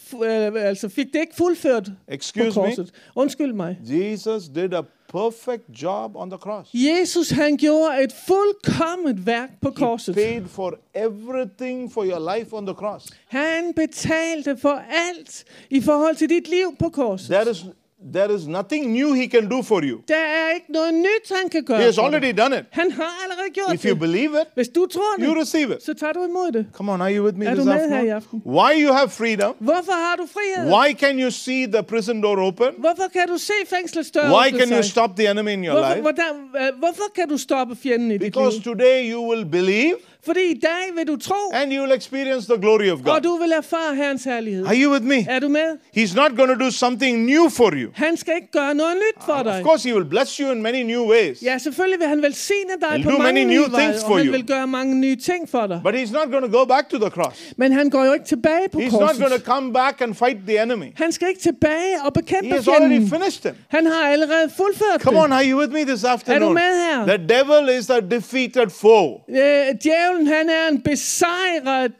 altså fik det ikke fuldført på Excuse me? korset. Undskyld mig. Jesus did a perfect job on the cross. Jesus, han gjorde et fuldkomment værk på He korset. paid for everything for your life on the cross. Han betalte for alt i forhold til dit liv på korset. There is nothing new he can do for you. Der er ikke noget nyt, han kan gøre. He has for dig. already done it. Han har allerede gjort If you det. believe it, Hvis du tror you det, receive it. så tager du imod det. Come on, are you with me Er this du med her i afternoon? aften? Why you have freedom? Hvorfor har du frihed? Why can you see the prison door open? Hvorfor kan du se fængslets dør Why åbne can you sig? stop the enemy in your life? Hvorfor kan du stoppe fjenden i dit Because liv? today you will believe Fordi i dag vil du tro, and you will experience the glory of og God. du vil erfare Herrens herlighed. Are you with me? Er du med? He's not going to do something new for you. Han skal ikke gøre noget nyt for dig. Of course, he will bless you in many new ways. Ja, selvfølgelig vil han velsigne dig He'll på do mange many nye new veje, things for og han you. vil gøre mange nye ting for dig. But he's not going to go back to the cross. Men han går jo ikke tilbage på He's not going to korset. come back and fight the enemy. Han skal ikke tilbage og He bekæmpe has already fjenden. finished him. Han har allerede fuldført Come on, det. are you with me this afternoon? med her? The devil is a defeated foe. Djævlen, han er en besejret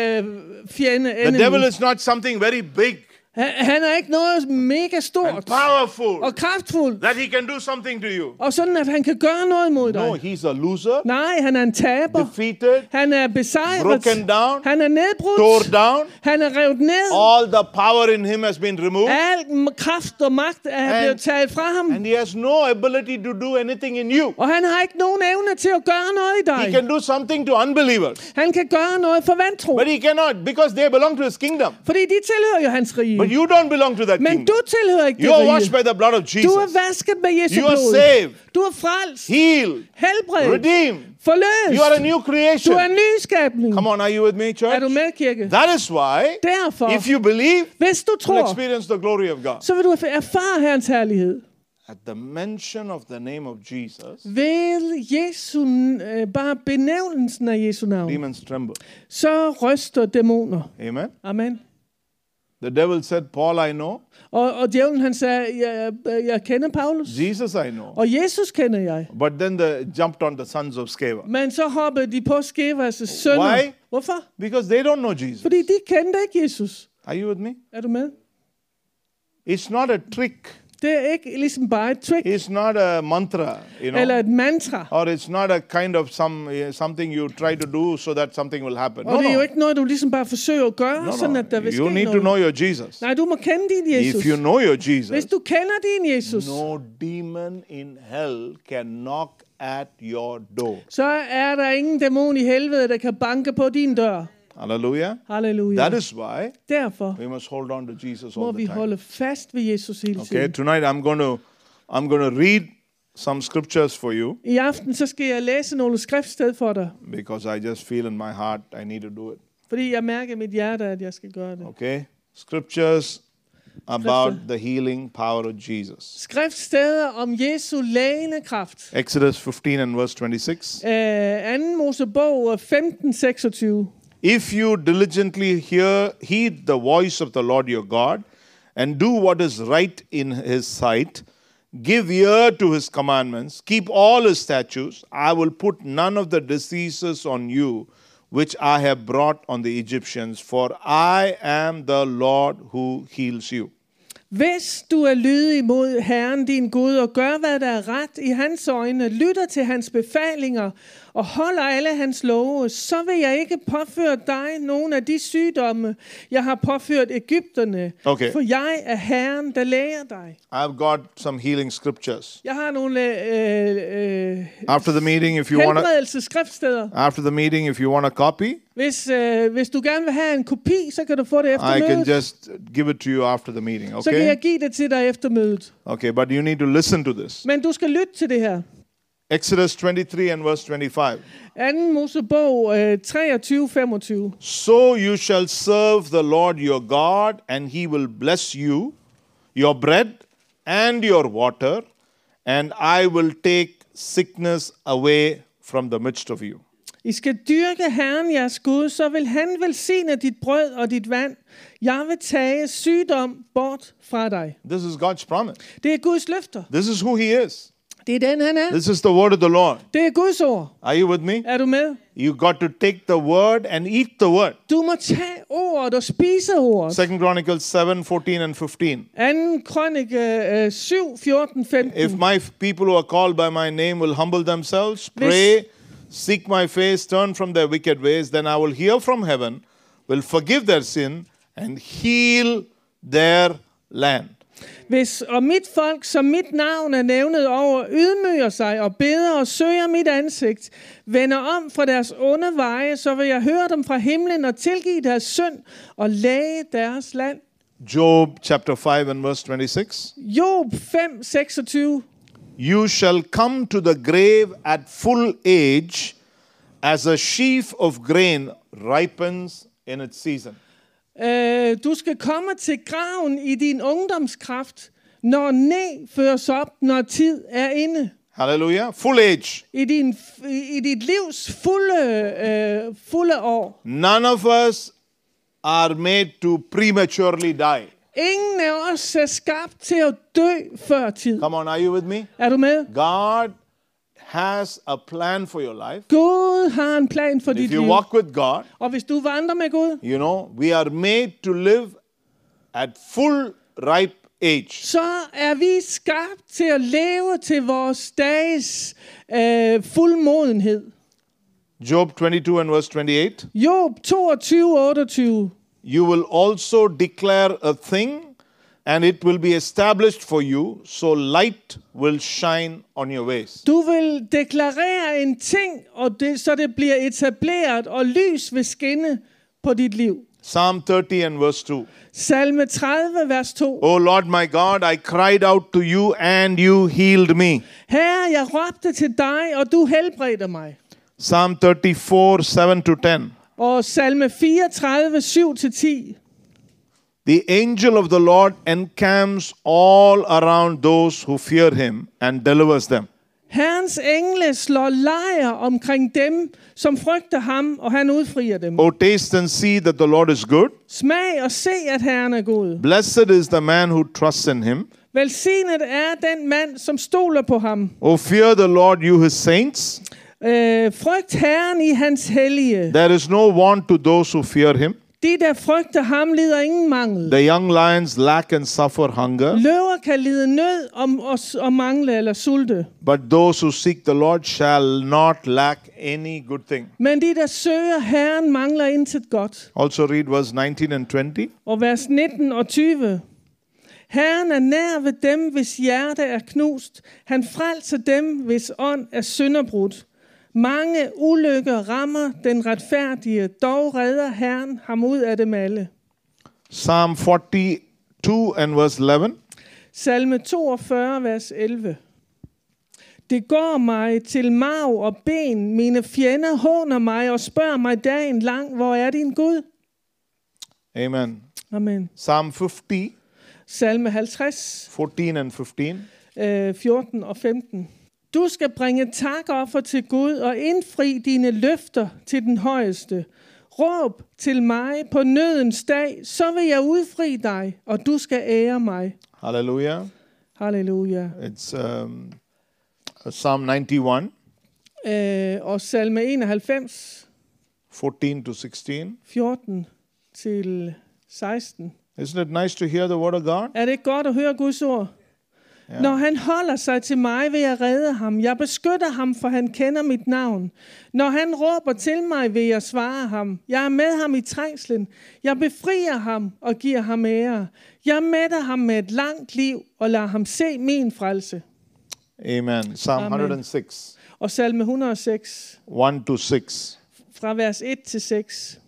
fjende. The devil is not something very big Han er ikke noget mega and stort powerful og kraftfuldt, that he can do something to you. og sådan at han kan gøre noget mod No, dig. he's a loser, Nej, han er en taber. defeated, Han er besejret. broken down, Han er nedbrudt. tore down. Han er revet ned. All the power in him has been removed. Al kraft og magt er blevet taget fra ham. And he has no ability to do anything in you. Og han har ikke nogen evne til at gøre noget i He dig. can do something to unbelievers. Han kan gøre noget for vantro. But he cannot because they belong to his kingdom. Fordi de tilhører jo hans rige. But you don't belong to that Men kingdom. du tilhører ikke You det are washed rige. by the blood of Du er Jesus. vasket med Jesu You are blod. saved, Du er frelst. healed, Helbredt. redeemed. Forløst. You are a new Du creation. er en ny skabning. Come on, are you with me, Er church? du med, kirke? That is why, Derfor, if you believe, hvis du you'll tror, experience the glory of God. så vil du erfare Herrens herlighed. At the mention of the name of Jesus, Ved Jesu, bare benævnelsen af Jesu navn, demons tremble. så ryster dæmoner. Amen. Amen. The devil said, Paul I know, Og djævlen han sagde, jeg kender Paulus, Jesus I know. og Jesus kender jeg. But then they jumped on the sons of Sceva. Men så hoppede de på Skevas sønner. Why? Hvorfor? Because they don't know Jesus. Fordi de kendte ikke Jesus. Are you with me? Er du med? It's not a trick. Det er ikke ligesom bare et trick, It's not a mantra, you know. eller et mantra. Or it's not a kind of something you try to do so that something will happen. Og No, det er jo no. ikke noget, du ligesom bare forsøger at gøre, No, sådan at der vil You ske need to noget. know your Jesus. Nej, du må kende din Jesus. If you know your Hvis Jesus, du kender din Jesus, no demon in hell can knock at your door. så er der ingen dæmon i helvede, der kan banke på din dør. Hallelujah. Halleluja. That is why Derfor we must hold on to Jesus må all vi the time. holde fast ved Jesus hele Okay, tiden. tonight I'm going to read some scriptures for you I aften så skal jeg læse nogle skriftsted for dig, because I just feel in my heart I need to do it. fordi jeg mærker i mit hjerte, at jeg skal gøre det. Okay? Scriptures about the healing power of Jesus. Skriftsteder om Jesu lægende kraft. Exodus 15 and verse 26. 2. Mosebog 15:26. If you diligently heed the voice of the Lord your God, and do what is right in his sight, give ear to his commandments, keep all his statutes, I will put none of the diseases on you which I have brought on the Egyptians, for I am the Lord who heals you. Hvis du er lydig mod Herren din Gud og gør, hvad der er ret i hans øjne, lytter til hans befalinger og holder alle hans love, så vil jeg ikke påføre dig nogen af de sygdomme, jeg har påført Egypterne. Okay. For jeg er Herren, der læger dig. I've got some healing scriptures. Jeg har nogle After the meeting, if you want helbredelsesskriftsteder. after the meeting, if you want a copy, Hvis du gerne vil have en kopi, så kan du få det efter I can mødet. just give it to you after the meeting, Så kan okay? jeg give det til dig efter mødet. Okay, but you need to listen to this. Men du skal lytte til det her. Exodus 23 and verse 25. 2. Mosebog 23:25. So you shall serve the Lord your God, and he will bless you, your bread and your water, and I will take sickness away from the midst of you. I skal dyrke Herren jeres Gud, så vil han velsigne dit brød og dit vand. Jeg vil tage sygdom bort fra dig. This is God's promise. Det er Guds løfter. This is who he is. Det er den, han er. This is the word of the Lord. Det er Guds ord. Are you with me? Er du med? You got to take the word and eat the word. Du må tage ordet og spise ordet. 2 Chronicles 7, 14 and 15. 2. Krønike 7, 14, 15. If my people who are called by my name will humble themselves, pray, seek my face, turn from their wicked ways, then I will hear from heaven, will forgive their sin, and heal their land. Hvis og mit folk, som mit navn er nævnet over, ydmyger sig og beder og søger mit ansigt, vender om fra deres onde veje, så vil jeg høre dem fra himlen og tilgive deres synd og læge deres land. Job chapter 5 and verse 26. Job 5, 26. You shall come to the grave at full age, as a sheaf of grain ripens in its season. Du skal komme til graven i din ungdomskraft, når næ føres op, når tid er inde. Hallelujah. Full age. I dit livs fulde år. None of us are made to prematurely die. Ingen af os er skabt til at dø før tid. Come on, are you with me? Er du med? God has a plan for your life. Gud har en plan for dit If you liv. walk with God, Og hvis du vandrer med Gud, you know, we are made to live at full ripe age. så er vi skabt til at leve til vores dages fuldmodenhed. Job 22 and verse 28. Job 22:28. You will also declare a thing, and it will be established for you, so light will shine on your ways. Du vil deklarere en ting, og så det bliver etableret, og lys vil skinne på dit liv. Psalm 30 and verse 2. Salme 30, vers 2. O Lord my God, I cried out to you, and you healed me. Herre, jeg råbte til dig, og du helbredte mig. Psalm 34, 7-10. Og salme 34, 7-10. The angel of the Lord encamps all around those who fear him and delivers them. Herrens engle slår lejr omkring dem, som frygter ham, og han udfrier dem. O taste and see that the Lord is good. Smag og se, at Herren er god. Blessed is the man who trusts in him. Velsignet er den mand, som stoler på ham. O fear the Lord, you his saints. Frygt Herren i hans hellige. There is no want to those who fear him. De, der frygter ham, lider ingen mangel. The young lions lack and suffer hunger, Løver kan lide nød og mangle eller sulte. but those who seek the Lord shall not lack any good thing. Men de, der søger Herren, mangler intet godt. Also read verse 19 and 20. Og vers 19 og 20. Herren er nær ved dem, hvis hjerte er knust. Han frelser dem, hvis ånd er sønderbrudt. Mange ulykker rammer den retfærdige, dog redder Herren ham ud af dem alle. Psalm 42 and verse 11. Salme 42, vers 11. Det går mig til marv og ben. Mine fjender håner mig og spørger mig dagen lang, hvor er din Gud? Amen. Amen. Psalm 50, Salme 50, 14 and 15. 14 og 15. Du skal bringe takoffer til Gud og indfri dine løfter til den højeste. Råb til mig på nødens dag, så vil jeg udfri dig, og du skal ære mig. Hallelujah. Halleluja. It's Psalm 91, Og salme 91, 14 to 16. 14 til 16. Isn't it nice to hear the word of God? Er det ikke godt at høre Guds ord? Ja. Når han holder sig til mig, vil jeg redde ham. Jeg beskytter ham, for han kender mit navn. Når han råber til mig, vil jeg svare ham. Jeg er med ham i trængslen. Jeg befrier ham og giver ham ære. Jeg mætter ham med et langt liv og lader ham se min frelse. Amen. Psalm Amen. 106, Og salme 106, 1 to 6. fra vers 1 til 6.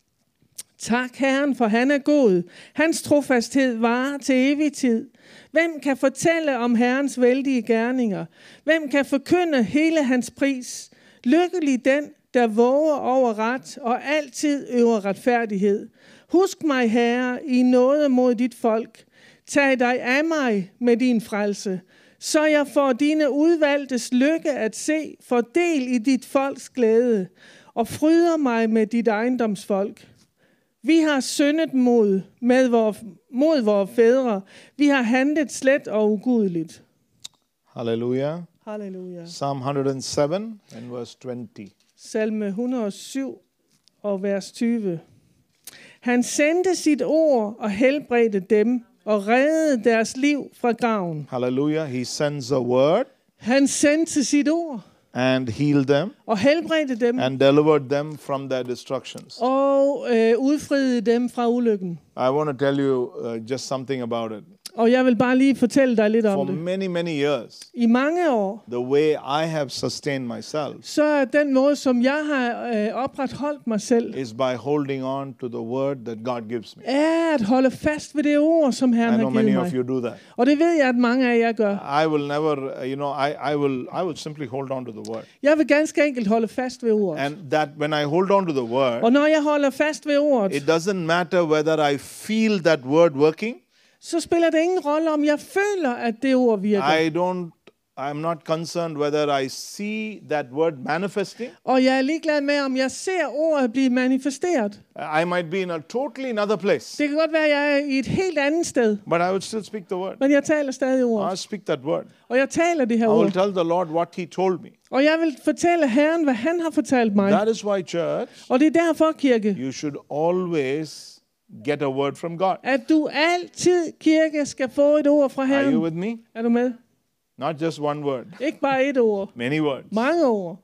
Tak Herren, for han er god. Hans trofasthed varer til evig tid. Hvem kan fortælle om Herrens vældige gerninger? Hvem kan forkynde hele hans pris? Lykkelig den, der våger over ret og altid øver retfærdighed. Husk mig, Herre, i nåde mod dit folk. Tag dig af mig med din frelse, så jeg får dine udvalgtes lykke at se, fordel i dit folks glæde, og fryder mig med dit ejendomsfolk. Vi har syndet mod vores fædre. Vi har handlet slet og ugudeligt. Hallelujah. Halleluja. Psalm 107 and verse 20. Salme 107 og vers 20. Han sendte sit ord og helbredte dem og reddede deres liv fra graven. Hallelujah. He sends a word Han sendte sit ord and healed them og helbredte dem and delivered them from their destructions. og udfriede dem fra ulykken. I want to tell you just something about it. Og jeg vil bare lige fortælle dig lidt for om det. many, many years, I mange år, the way I have sustained myself så er den måde, som jeg har opretholdt mig selv, is by holding on to the word that God gives me. er at holde fast ved det ord, som Herren I know har givet many mig. of you do that. Og det ved jeg, at mange af jer gør. I will never, I will simply hold on to the word. Jeg vil ganske enkelt holde fast ved ordet. And that when I hold on to the word, Og når jeg holder fast ved ordet, it doesn't matter whether I feel that word working. så spiller det ingen rolle, om jeg føler, at det ord virker. I'm not concerned whether I see that word manifesting. Og jeg er ligeglad med, om jeg ser ordet blive manifesteret. I might be in a totally another place, Det kan godt være, at jeg er i et helt andet sted, but I would still speak the word. men jeg taler stadig ordet. I speak that word. Og jeg taler det her I will ord. tell the Lord what He told me. Og jeg vil fortælle Herren, hvad han har fortalt mig. That is why, church, Og det er derfor, kirke, you should always get a word from God. at du altid, kirke, skal få et ord fra Are you Herren. with me? Er du med? Not just one word, Ikke bare et ord. many words. Mange ord.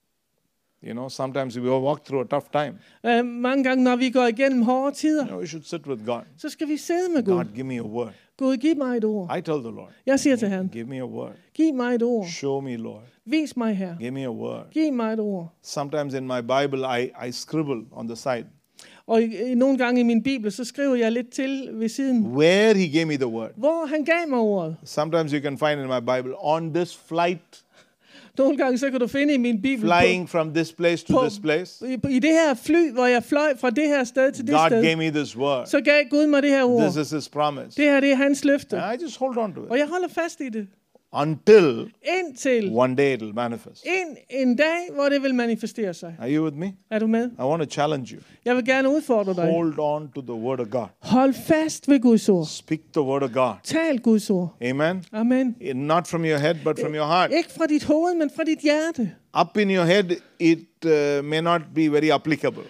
You know, sometimes we walk through a tough time. Mange gange, når vi går igennem hårde tider, You know, we should sit with God. så skal vi sidde med Gud. God, give me a word. Gud, giv mig et ord. I tell the Lord, Jeg siger til Herren, give me a word. giv mig et ord. Show me, Lord. Vis mig her. Give me a word. Giv mig et ord. Sometimes in my Bible, I scribble on the side Og nogle gange i min bibel, så skriver jeg lidt til ved siden, where He gave me the word. hvor han gav mig ordet. Sometimes you can find in my Bible, on this flight, Nogle gange så kan du finde i min bibel flying from this place to this place, i det her fly, hvor jeg fløj fra det her sted til det God sted, gave me this word. så gav Gud mig det her ord. This is His promise. Det her, det er hans løfte. And I just hold on to Og it jeg holder fast i det. until Indtil one day it will manifest. en dag, hvor det vil manifestere sig. Are you with me? Er du med? I want to challenge you. Jeg vil gerne udfordre dig. Hold on to the word of God. Hold fast ved Guds ord. Speak the word of God. Tal Guds ord. Amen. Amen. Not from your head, but from your heart. Ikke fra dit hoved, men fra dit hjerte. Up in your head, it may not be very applicable.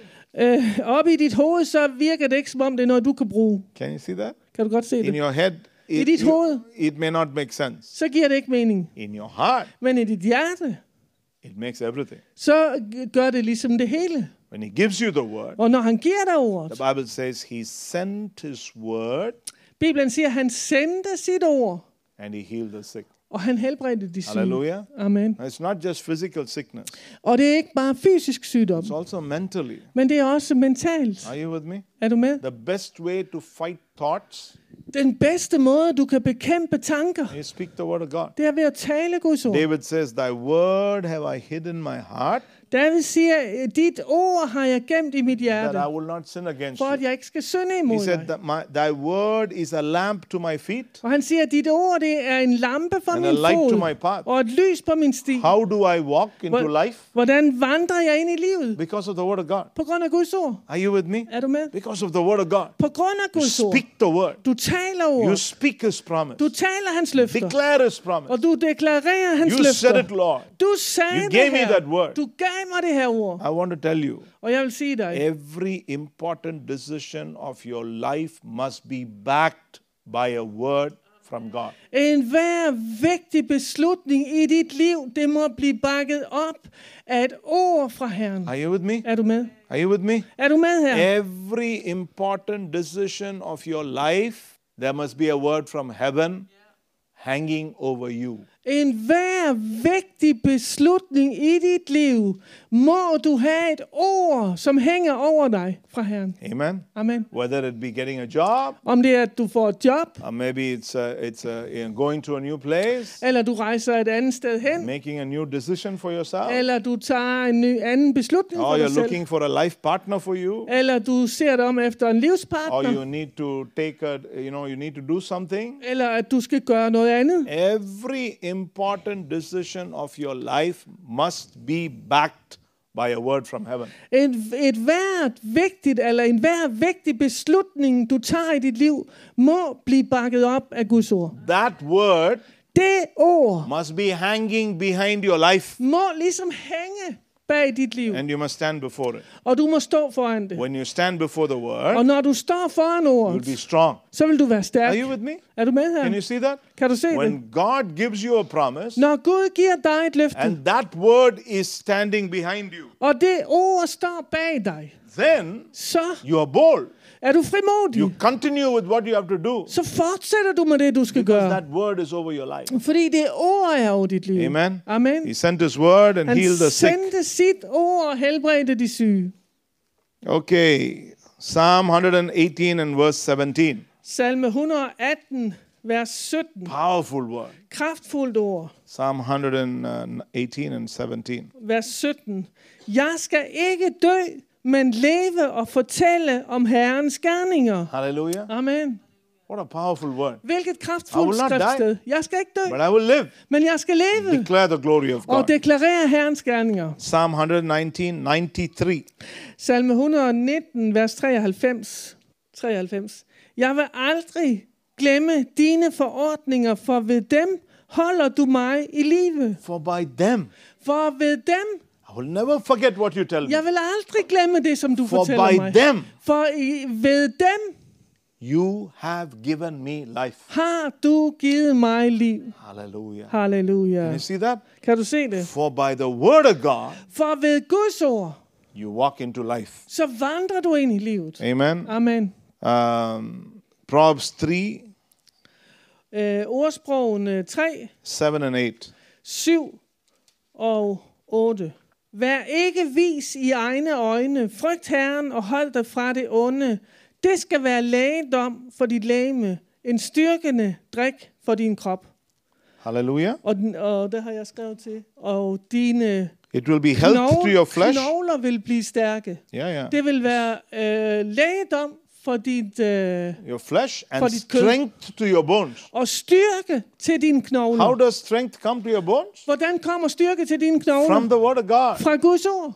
Op i dit hoved, så virker det ikke, som om det er noget, du kan bruge. Can you see that? Kan du godt se In det? your head, I dit hoved, it may not make sense. så giver det ikke mening. In your heart, Men i dit hjerte, it makes everything. så gør det ligesom det hele. When He gives you the word, Og når han giver dig ordet, the Bible says He sent His word Bibelen siger, at han sendte sit ord, and He healed the sick. og han helbredte de syge. Hallelujah. Amen. It's not just physical sickness, Og det er ikke bare fysisk sygdom, it's also mentally. men det er også mentalt. Are you with me? Er du med? The best way to fight thoughts Den bedste måde, du kan bekæmpe tanker, is speak the word of God. det er ved at tale Guds ord. David says, Thy word have I hidden in my heart, David siger, dit ord har jeg gemt i mit hjerte, that I will not sin against for at you. jeg ikke skal synde He imod said dig. that thy word is a lamp to my feet Og han siger, at dit ord, det er en lampe for and min a light to fod, my path. og et lys på min sti. How do I walk into life? Hvordan vandrer jeg ind i livet? Because of the word of God. På grund af Guds ord. Are you with me? Er du med? Because of the word of God. På grund af You Guds ord. speak the word. Du taler You ord. speak His promise. Du taler hans løfter. Declare His promise. Og du deklarerer hans You said løfter. it, Lord. Du sagde You det gave me her. that word. Du gav mig det her ord. I want to tell you, Og jeg vil sige dig, every important decision of your life must be backed by a word from God. en hver vigtig beslutning i dit liv, det må blive bakket op af et ord fra Herren. Are you with me? Er du med? Are you with me? Er du med her? Every important decision of your life, there must be a word from heaven hanging over you. En hver vigtig beslutning i dit liv, må du have et ord, som hænger over dig fra Herren. Amen. Amen. Whether it be getting a job, Om det er, at du får et job, or maybe it's going to a new place, eller du rejser et andet sted hen, making a new decision for yourself, eller du tager en ny anden beslutning or for dig you're selv, looking for a life partner for you, eller du ser dig om efter en or livspartner, you need to you need to do something. eller at du skal gøre noget andet. Every important decision of your life must be backed by a word from heaven. Et hvert vigtigt, eller en hver vigtig beslutning, du tager i dit liv, må blive bakket op af Guds ord. That word Det ord must be hanging behind your life, må ligesom hænge bag dit liv, and you must stand before it. og du må stå foran det. When you stand before the Og word, når du står foran you will ordet, be strong. så vil du være stærk. Are you with me? Er du med Can you her? see that? Kan du se det? When God gives you a promise, Når Gud giver dig et løfte, and that word is standing behind you, og det ord står bag dig, then så you are bold. er du frimodig. You continue with what you have to do. Så fortsætter du med det, du skal Because gøre. that word is over your life. Fordi det ord er over dit liv. Amen. Amen. He sent his word and Han healed the sick. sendte sit ord og helbredte de syge. Okay. Psalm 118 and verse 17. Salme 118, vers 17. Powerful word. Kraftfuldt ord. Psalm 118 and 17. Vers 17. Jeg skal ikke dø, men leve og fortælle om Herrens gerninger. Hallelujah. Amen. What a powerful word. Hvilket I kraftfuldt will not die. skriftsted. Jeg skal ikke dø, But I will live. men jeg skal leve Declare the glory of God. og deklarere Herrens gerninger. Psalm 119, 93. Salme 119, vers 93. Jeg vil aldrig glemme dine forordninger, for ved dem holder du mig i live. For by them, For ved dem, I will never forget what you tell me. jeg vil aldrig glemme det, som du For fortæller by mig. them, Ved dem you have given me life. har du givet mig liv. Hallelujah. Halleluja. Can you see that? Kan du se det? For by the word of God, For ved Guds ord, you walk into life. så vandrer du ind i livet. Amen. Amen. Proverbs 3, Ordsprogene 3, 7 and 8. 7 og 8. Vær ikke vis i egne øjne. Frygt Herren og hold dig fra det onde. Det skal være lægedom for dit legeme. En styrkende drik for din krop. Hallelujah. Og det har jeg skrevet til. Og dine It will be health to your flesh. knogler vil blive stærke. Yeah. Det vil være lægedom for dit Your flesh For and dit kød. strength to your bones. og styrke til dine knogler. How does strength come to your bones? Hvordan kommer styrke til dine knogler? From the word of God. Fra Guds ord.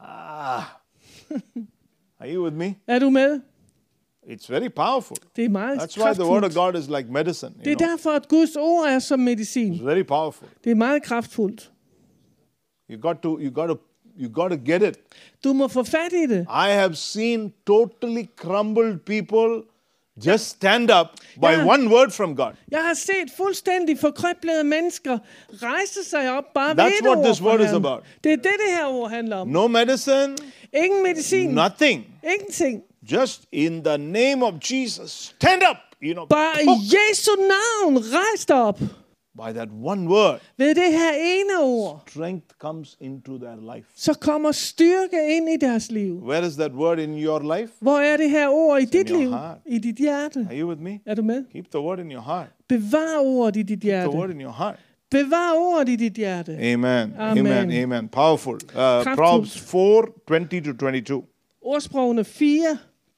Are you with me? Er du med? It's very powerful. Det er meget That's why the word of kraftfuldt. God is like medicine. Det er You know? derfor, at Guds ord er som medicin. It's very powerful. Det er meget kraftfuldt. You got to get it. Du må få fat i det. I have seen totally crumbled people just stand up by Yeah. one word from God. Jeg har set fuldstændig forkrøblede mennesker rejse sig op bare That's ved et what ord this fra word is Herren. about. Det er det her ord handler om. No medicine, Ingen medicin. nothing. Ingenting. Just in the name of Jesus, stand up. You know, Bare i Jesu navn, rejs dig op. by that one word, Ved det her ene ord, strength comes into their life. så kommer styrke ind i deres liv. Where is that word in your life? Hvor er det her ord i dit your liv? heart. I dit hjerte. Are you with me? Er du med? Keep the word in your heart. Bevar ordet i dit The word hjerte. in your heart. Bevar ordet i dit hjerte. Amen. Amen. Amen. Amen. Powerful. Proverbs 4, 20-22. Ordsprogene 4,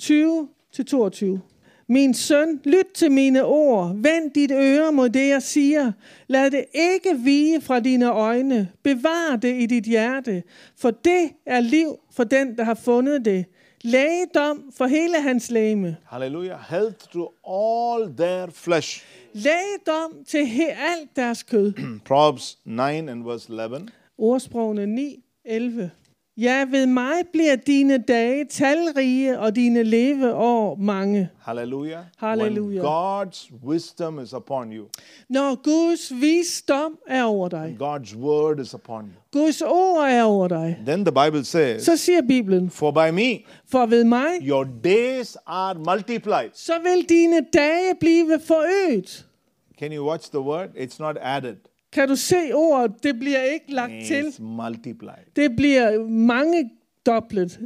20-22. Min søn, lyt til mine ord. Vend dit øre mod det, jeg siger. Lad det ikke vige fra dine øjne. Bevar det i dit hjerte. For det er liv for den, der har fundet det. Lægedom for hele hans legeme. Hallelujah. Health to all their flesh. Lægedom til alt deres kød. Proverbs 9 and verse 11. Ordsprogene 9, 11. Ja, ved mig bliver dine dage talrige, og dine leveår mange. Hallelujah. Hallelujah. When God's wisdom is upon you, Når Guds visdom er over dig, God's word is upon you, Guds ord er over dig, then the Bible says, så siger Bibelen, for by me, for ved mig, your days are multiplied. så vil dine dage blive forøget. Can you watch the word? It's not added. Kan du se ordet? Det bliver ikke lagt til. It's multiplied. Det bliver mange doblet,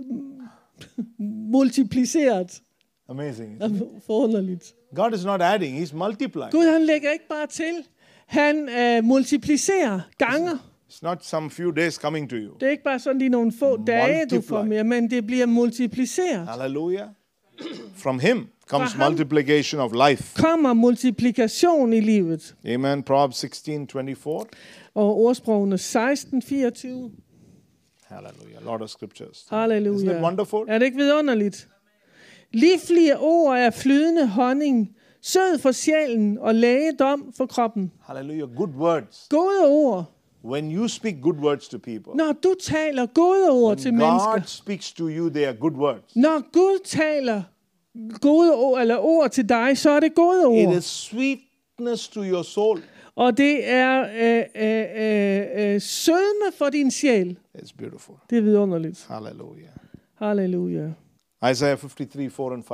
multipliceret. Amazing. Forunderligt. God is not adding, He's multiplying. Gud, han lægger ikke bare til. Han multiplicerer, ganger. It's not some few days coming to you. Det er ikke bare sådan lige nogle få dage, du får Multiply. mere, men det bliver multipliceret. Hallelujah. From Him comes Fra ham. multiplication of life. Kommer multiplikation i livet. Amen. Proverbs 16:24. Og ordsprogene 16, 24. Hallelujah. A lot of scriptures. Halleluja. Isn't it wonderful? Er det ikke vidunderligt? Livlige ord er flydende honning, sød for sjælen og lægedom for kroppen. Hallelujah. Good words. Gode ord. When you speak good words to people, Når du taler gode ord til God mennesker, speaks to you, they are good words. når Gud taler gode ord, eller ord til dig, så er det gode It ord. is sweetness to your soul. Og det er sødme for din sjæl. It's beautiful. Det er vidunderligt. Hallelujah. Halleluja. Isaiah 53, 4 and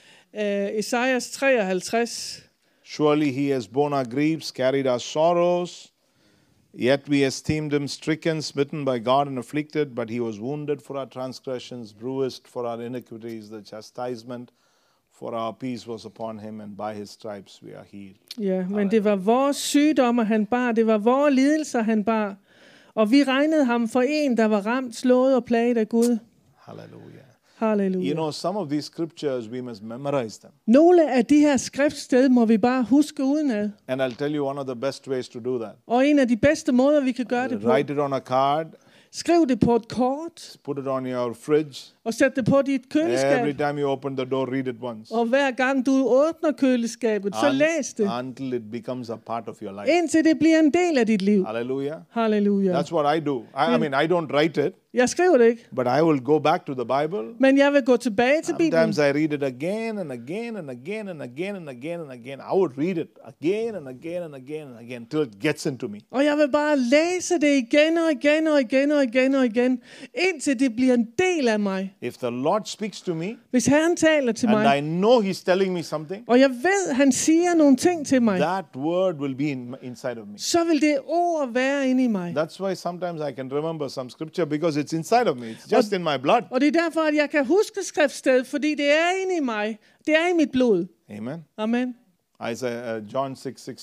5. Esajas 53. Surely he has borne our griefs, carried our sorrows, yet we esteemed him stricken, smitten by God and afflicted, but he was wounded for our transgressions, bruised for our iniquities. The chastisement for our peace was upon him, and by his stripes we are healed. Ja, men det var vores sygdomme, han bar. Det var vores lidelser, han bar. Og vi regnede ham for en, der var ramt, slået og plaget af Gud. Hallelujah. Halleluja. You know, some of these scriptures, we must memorize them. Nogle af de her skriftsted må vi bare huske udenad. And I'll tell you one of the best ways to do that. Og en af de bedste måder, vi kan gøre det på. Write it on a card, Skriv det på et kort, put it on your fridge. og sæt det på dit køleskab. Every time you open the door, read it once. Og hver gang du åbner køleskabet, så læs det. Until it becomes a part of your life. Indtil det bliver en del af dit liv. Hallelujah. Halleluja. That's what I do. I mean, I don't write it, Jeg skriver det ikke, but I will go back to the Bible. men jeg vil gå tilbage til Bibelen. Sometimes I read it again and again and again and again and again and again. I would read it again and again and again and again till it gets into me. Og jeg vil bare læse det igen og igen og igen og igen og igen, indtil det bliver en del af mig. If the Lord speaks to me Hvis Herren taler til and mig, I know He's telling me something, og jeg ved, han siger nogle ting til mig, that word will be inside of me. så vil det ord være inde i mig. That's why sometimes I can remember some scripture because it's inside of me. It's just in my blood. Og det er derfor, at jeg kan huske skriftsted, fordi det er inde i mig. Det er i mit blod. Amen. Amen. John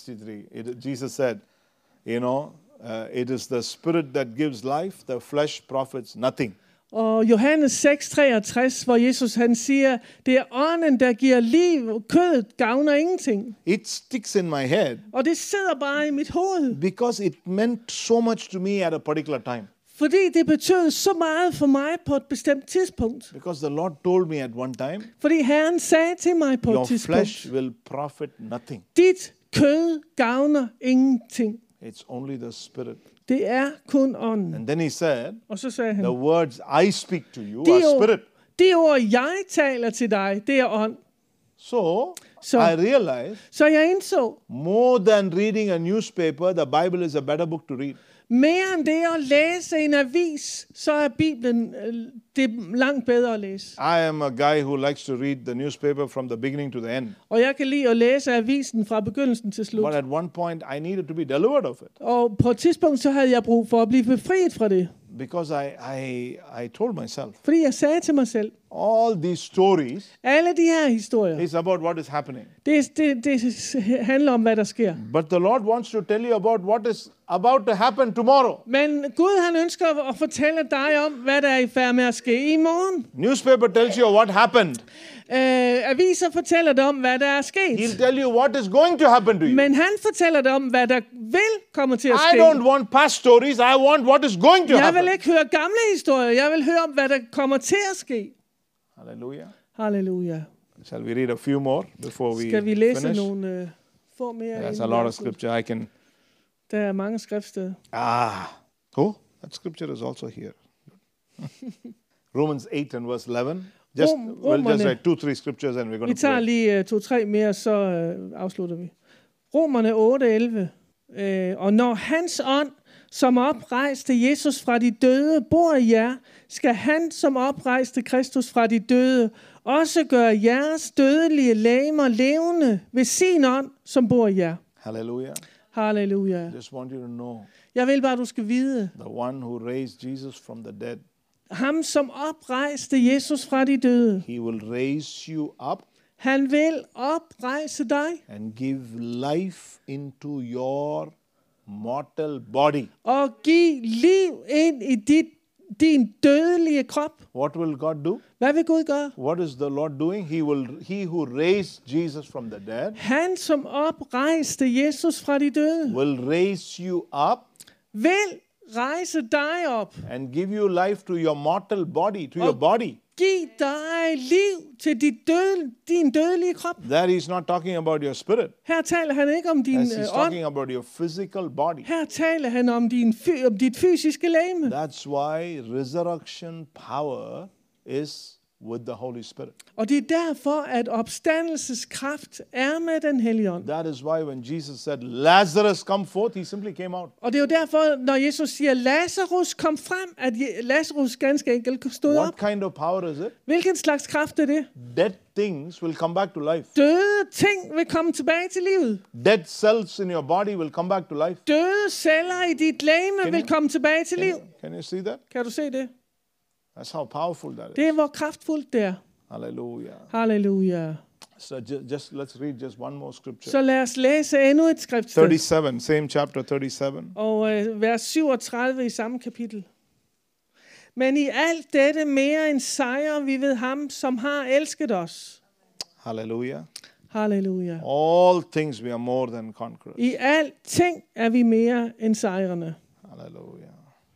6:63. Jesus said, you know, it is the spirit that gives life, the flesh profits nothing. Og Johannes 6:63, hvor Jesus han siger, det er ånden, der giver liv, kødet gavner ingenting. It sticks in my head Og det sidder bare i mit hoved, because it meant so much to me at a particular time. fordi det betød så meget for mig på et bestemt tidspunkt. Because the Lord told me at one time, Fordi Herren sagde til mig på your et tidspunkt, flesh will profit nothing. dit kød gavner ingenting. It's only the spirit. Det er kun ånden. And then he said, Og så sagde han, the words I speak to you are spirit. de ord, jeg taler til dig, det er ånd. So Så- I realized Så jeg indså, more than reading a newspaper, the Bible is a better book to read. mere end det at læse en avis, så er Bibelen det er langt bedre at læse. I am a guy who likes to read the newspaper from the beginning to the end. Og jeg kan lide at læse avisen fra begyndelsen til slut. But at one point, I needed to be delivered of it Og på et tidspunkt, så havde jeg brug for at blive befriet fra det. because I told myself, Fordi jeg sagde til mig selv, all these stories alle de her historier, is about what is happening. det handler om, hvad der sker. But the Lord wants to tell you about what is about to happen tomorrow. Men Gud, han ønsker at fortælle dig om, hvad der er i færd med at ske i morgen. Newspaper tells you what happened. Aviser fortæller dig om, hvad der er sket. He'll tell you what is going to happen to you. Men han fortæller dig om, hvad der vil komme til at I ske. don't want past stories. I want what is going to Jeg happen. vil ikke høre gamle historier. Jeg vil høre om, hvad der kommer til at ske. Hallelujah. Halleluja. Shall we read a few more before we Skal vi læse finish? nogle få mere? There's inden a vi lot of afslutter? scripture I can. Der er mange skriftsteder. That scripture is also here. Romans 8 and verse 11. We'll just write 2-3 scriptures and we're going Vi to tager pray. lige 2-3 mere, så afslutter vi. Romerne 8:11. Og når hans ånd, som oprejste Jesus fra de døde, bor i jer, skal han, som oprejste Kristus fra de døde, også gøre jeres dødelige legemer levende ved sin ånd, som bor i jer. Hallelujah. Halleluja. I just want you to know Jeg vil bare, du skal vide, the one who raised Jesus from the dead, ham, som oprejste Jesus fra de døde, he will raise you up han vil oprejse dig and give life into your mortal body. og give liv ind i din dødelige krop. What will God do? Hvad vil Gud gøre? What is the Lord doing? He who raised Jesus from the dead Han, som oprejste Jesus fra de døde, will raise you up vil rejse dig op. and give you life to your mortal body, to your body. Giv dig liv til din dødelige krop. That he's not talking about your spirit. Her taler han ikke om din He's ånd. talking about your physical body. Her taler han om dit fysiske legeme. That's why resurrection power is with the Holy Spirit. Og det er derfor, at opstandelseskraft er med den hellige ånd. That is why when Jesus said, Lazarus, come forth, he simply came out. Og det er jo derfor, når Jesus siger, Lazarus kom frem, at Lazarus ganske enkelt stod What op. kind of power is it? Hvilken slags kraft er det? Dead things will come back to life. Døde ting vil komme tilbage til livet. Dead cells in your body will come back to life. Døde celler i dit legeme vil komme tilbage til liv. Can you see that? Kan du se det? That's how powerful that Det is. er, hvor kraftfuldt det er. Hallelujah. Halleluja. So just let's read just one more scripture. Så lad os læse endnu et skriftsted. 37, same chapter 37. Og vers 37 i samme kapitel. Men i alt dette mere end sejr vi ved ham, som har elsket os. Hallelujah. Halleluja. All things we are more than conquerors. I alt ting er vi mere end sejrende. Hallelujah.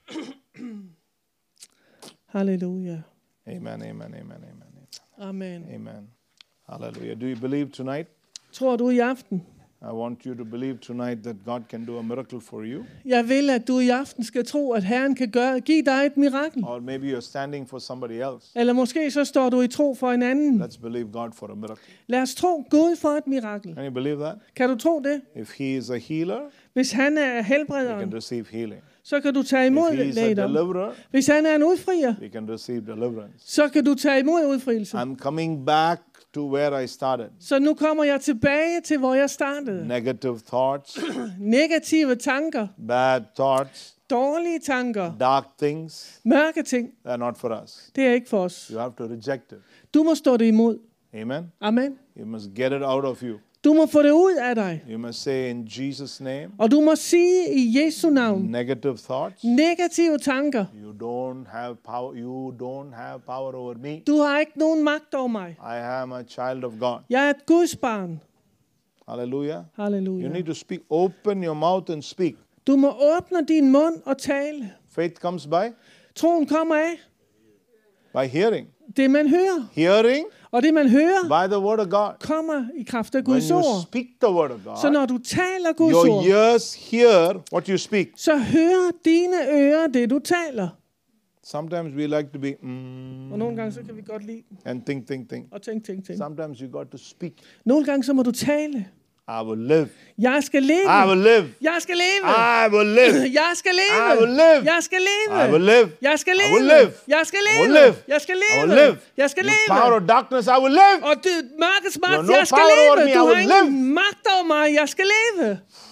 Halleluja. Amen, amen, amen, amen. Amen. Amen. Hallelujah. Do you believe tonight? Tror du i aften? I want you to believe tonight that God can do a miracle for you. Jeg vil, at du i aften skal tro, at Herren kan give dig et mirakel. Or maybe you're standing for somebody else. Eller måske så står du i tro for en anden. Let's believe God for a miracle. Lad os tro Gud for et mirakel. Can you believe that? Kan du tro det? If He is a healer, Hvis han er we can helbrederen, receive healing. så kan du tage imod If He is a lægedom. deliverer, Hvis han er en udfrier, we can receive deliverance. så kan du tage imod udfrielse. I'm coming back to where I started. Så nu kommer jeg tilbage til, hvor jeg startede. Negative thoughts, Negative tanker, bad thoughts, dårlige tanker, dark things, mørke ting, they're not for us. det er ikke for os. You have to reject it. Du må stå det imod. Amen. Amen. You must get it out of you. Du må få det ud af dig. You must say in Jesus' name, Og du må sige i Jesu navn, negative thoughts, negative tanker. you don't have power. You don't have power over me. Du har ikke nogen magt over mig. I am a child of God. Jeg er et Guds barn. Hallelujah. You Halleluja. need to speak. Open your mouth and speak. Du må åbne din mund og tale. Faith comes by Troen kommer af hearing. det, man hører. Hearing Og det, man hører, by the word of God. kommer i kraft af When Guds you ord. speak the word of Så God, når du taler Guds your ord, ears hear what you speak. så hører dine ører det, du taler. Sometimes we like to be Og nogle gange, så kan vi godt lide and think. og tænke. Sometimes you got to speak. Nogle gange, så må du tale. I will live. Jeg skal leve. I will live. Jeg skal leve. I will live. Jeg skal leve. I will live. Jeg skal leve. I will live. Jeg skal I leve. will live. Jeg skal I will leve. live. Jeg skal I leve. will live. Jeg skal You leve. power of darkness, I will live. Og det mørkets You have magt, no jeg skal power over leve. me, Du I har will ingen magt over mig. Jeg skal leve.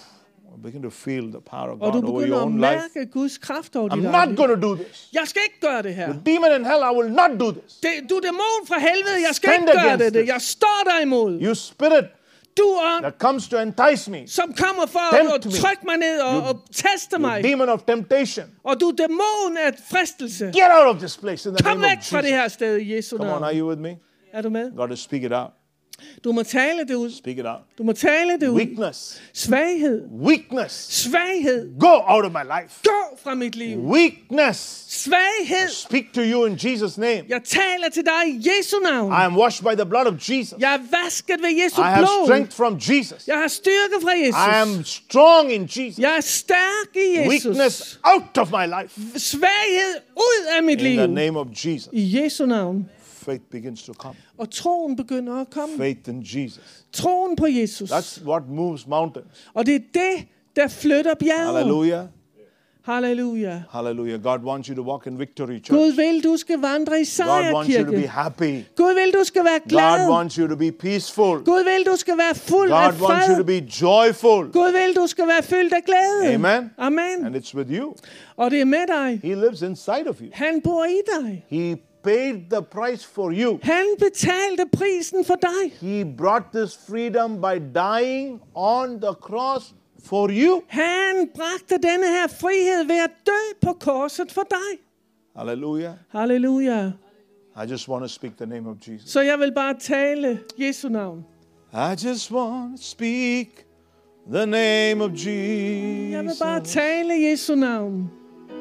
Begin to feel the power of Og du God over begynder your at own life. mærke Guds kraft over dit I'm eget not liv. going to do this. Jeg skal ikke gøre det her. The demon in hell, I will not do this. Du er dæmon fra helvede. Jeg skal Stand ikke gøre against det. this. Jeg står der imod. You spirit Du ånd, that comes to entice me. som kommer for Tempt at me. trykke mig ned og teste You mig. demon of temptation. Og du er dæmon af fristelse. Get out of this place in the Kom name of væk fra det Jesus. her sted i Jesu Come on, are navn. you with me? Er du med? Got to speak it out. Du må tale det ud. Speak it out. Du må tale det ud. Weakness. Svaghed. Weakness. Svaghed. Go out of my life. Gå fra mit liv. Weakness. Svaghed. Speak to you in Jesus' name. Jeg taler til dig i Jesu navn. I am washed by the blood of Jesus. Jeg er vasket ved Jesu I have blod. strength from Jesus. Jeg har styrke fra I Jesus. am strong in Jesus. Jeg er stærk i Jesus. Weakness out of my life. Svaghed ud af mit In liv. the name of Jesus. I Jesu navn. Faith begins to come. Og troen begynder at komme. Faith in Jesus. Troen på Jesus. That's what moves mountains. Og det er det, der flytter bjerget. Hallelujah. Halleluja. Hallelujah. God wants you to walk in victory, church. Gud vil, du skal vandre i God wants you to be sejrkirke. happy. Gud vil, du skal være God glad. wants you to be peaceful. Gud vil, du skal være fuld af God wants you to fred. be joyful. Gud vil, du skal være fyldt af glæde. Amen. Amen. And it's with you. Og det er med dig. He lives inside of you. Han bor i dig. He paid the price for you. Han betalte prisen for dig. He brought this freedom by dying on the cross for you. Han bragte denne her frihed ved at dø på korset for dig. Hallelujah. Halleluja. I just want to speak the name of Jesus. Så jeg vil bare tale Jesu navn. I just want to speak the name of Jeg vil bare Jesus. tale Jesu navn.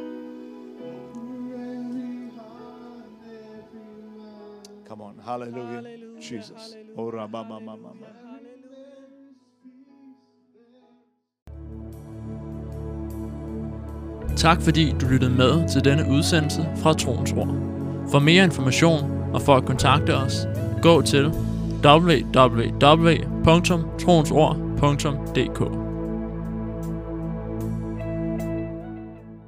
Come on. Hallelujah. Hallelujah. Jesus. Hallelujah. Oh, rabba, ma, ma, ma, ma. Tak fordi du lyttede med til denne udsendelse fra Troens Ord. For mere information og for at kontakte os, gå til www.troensord.dk.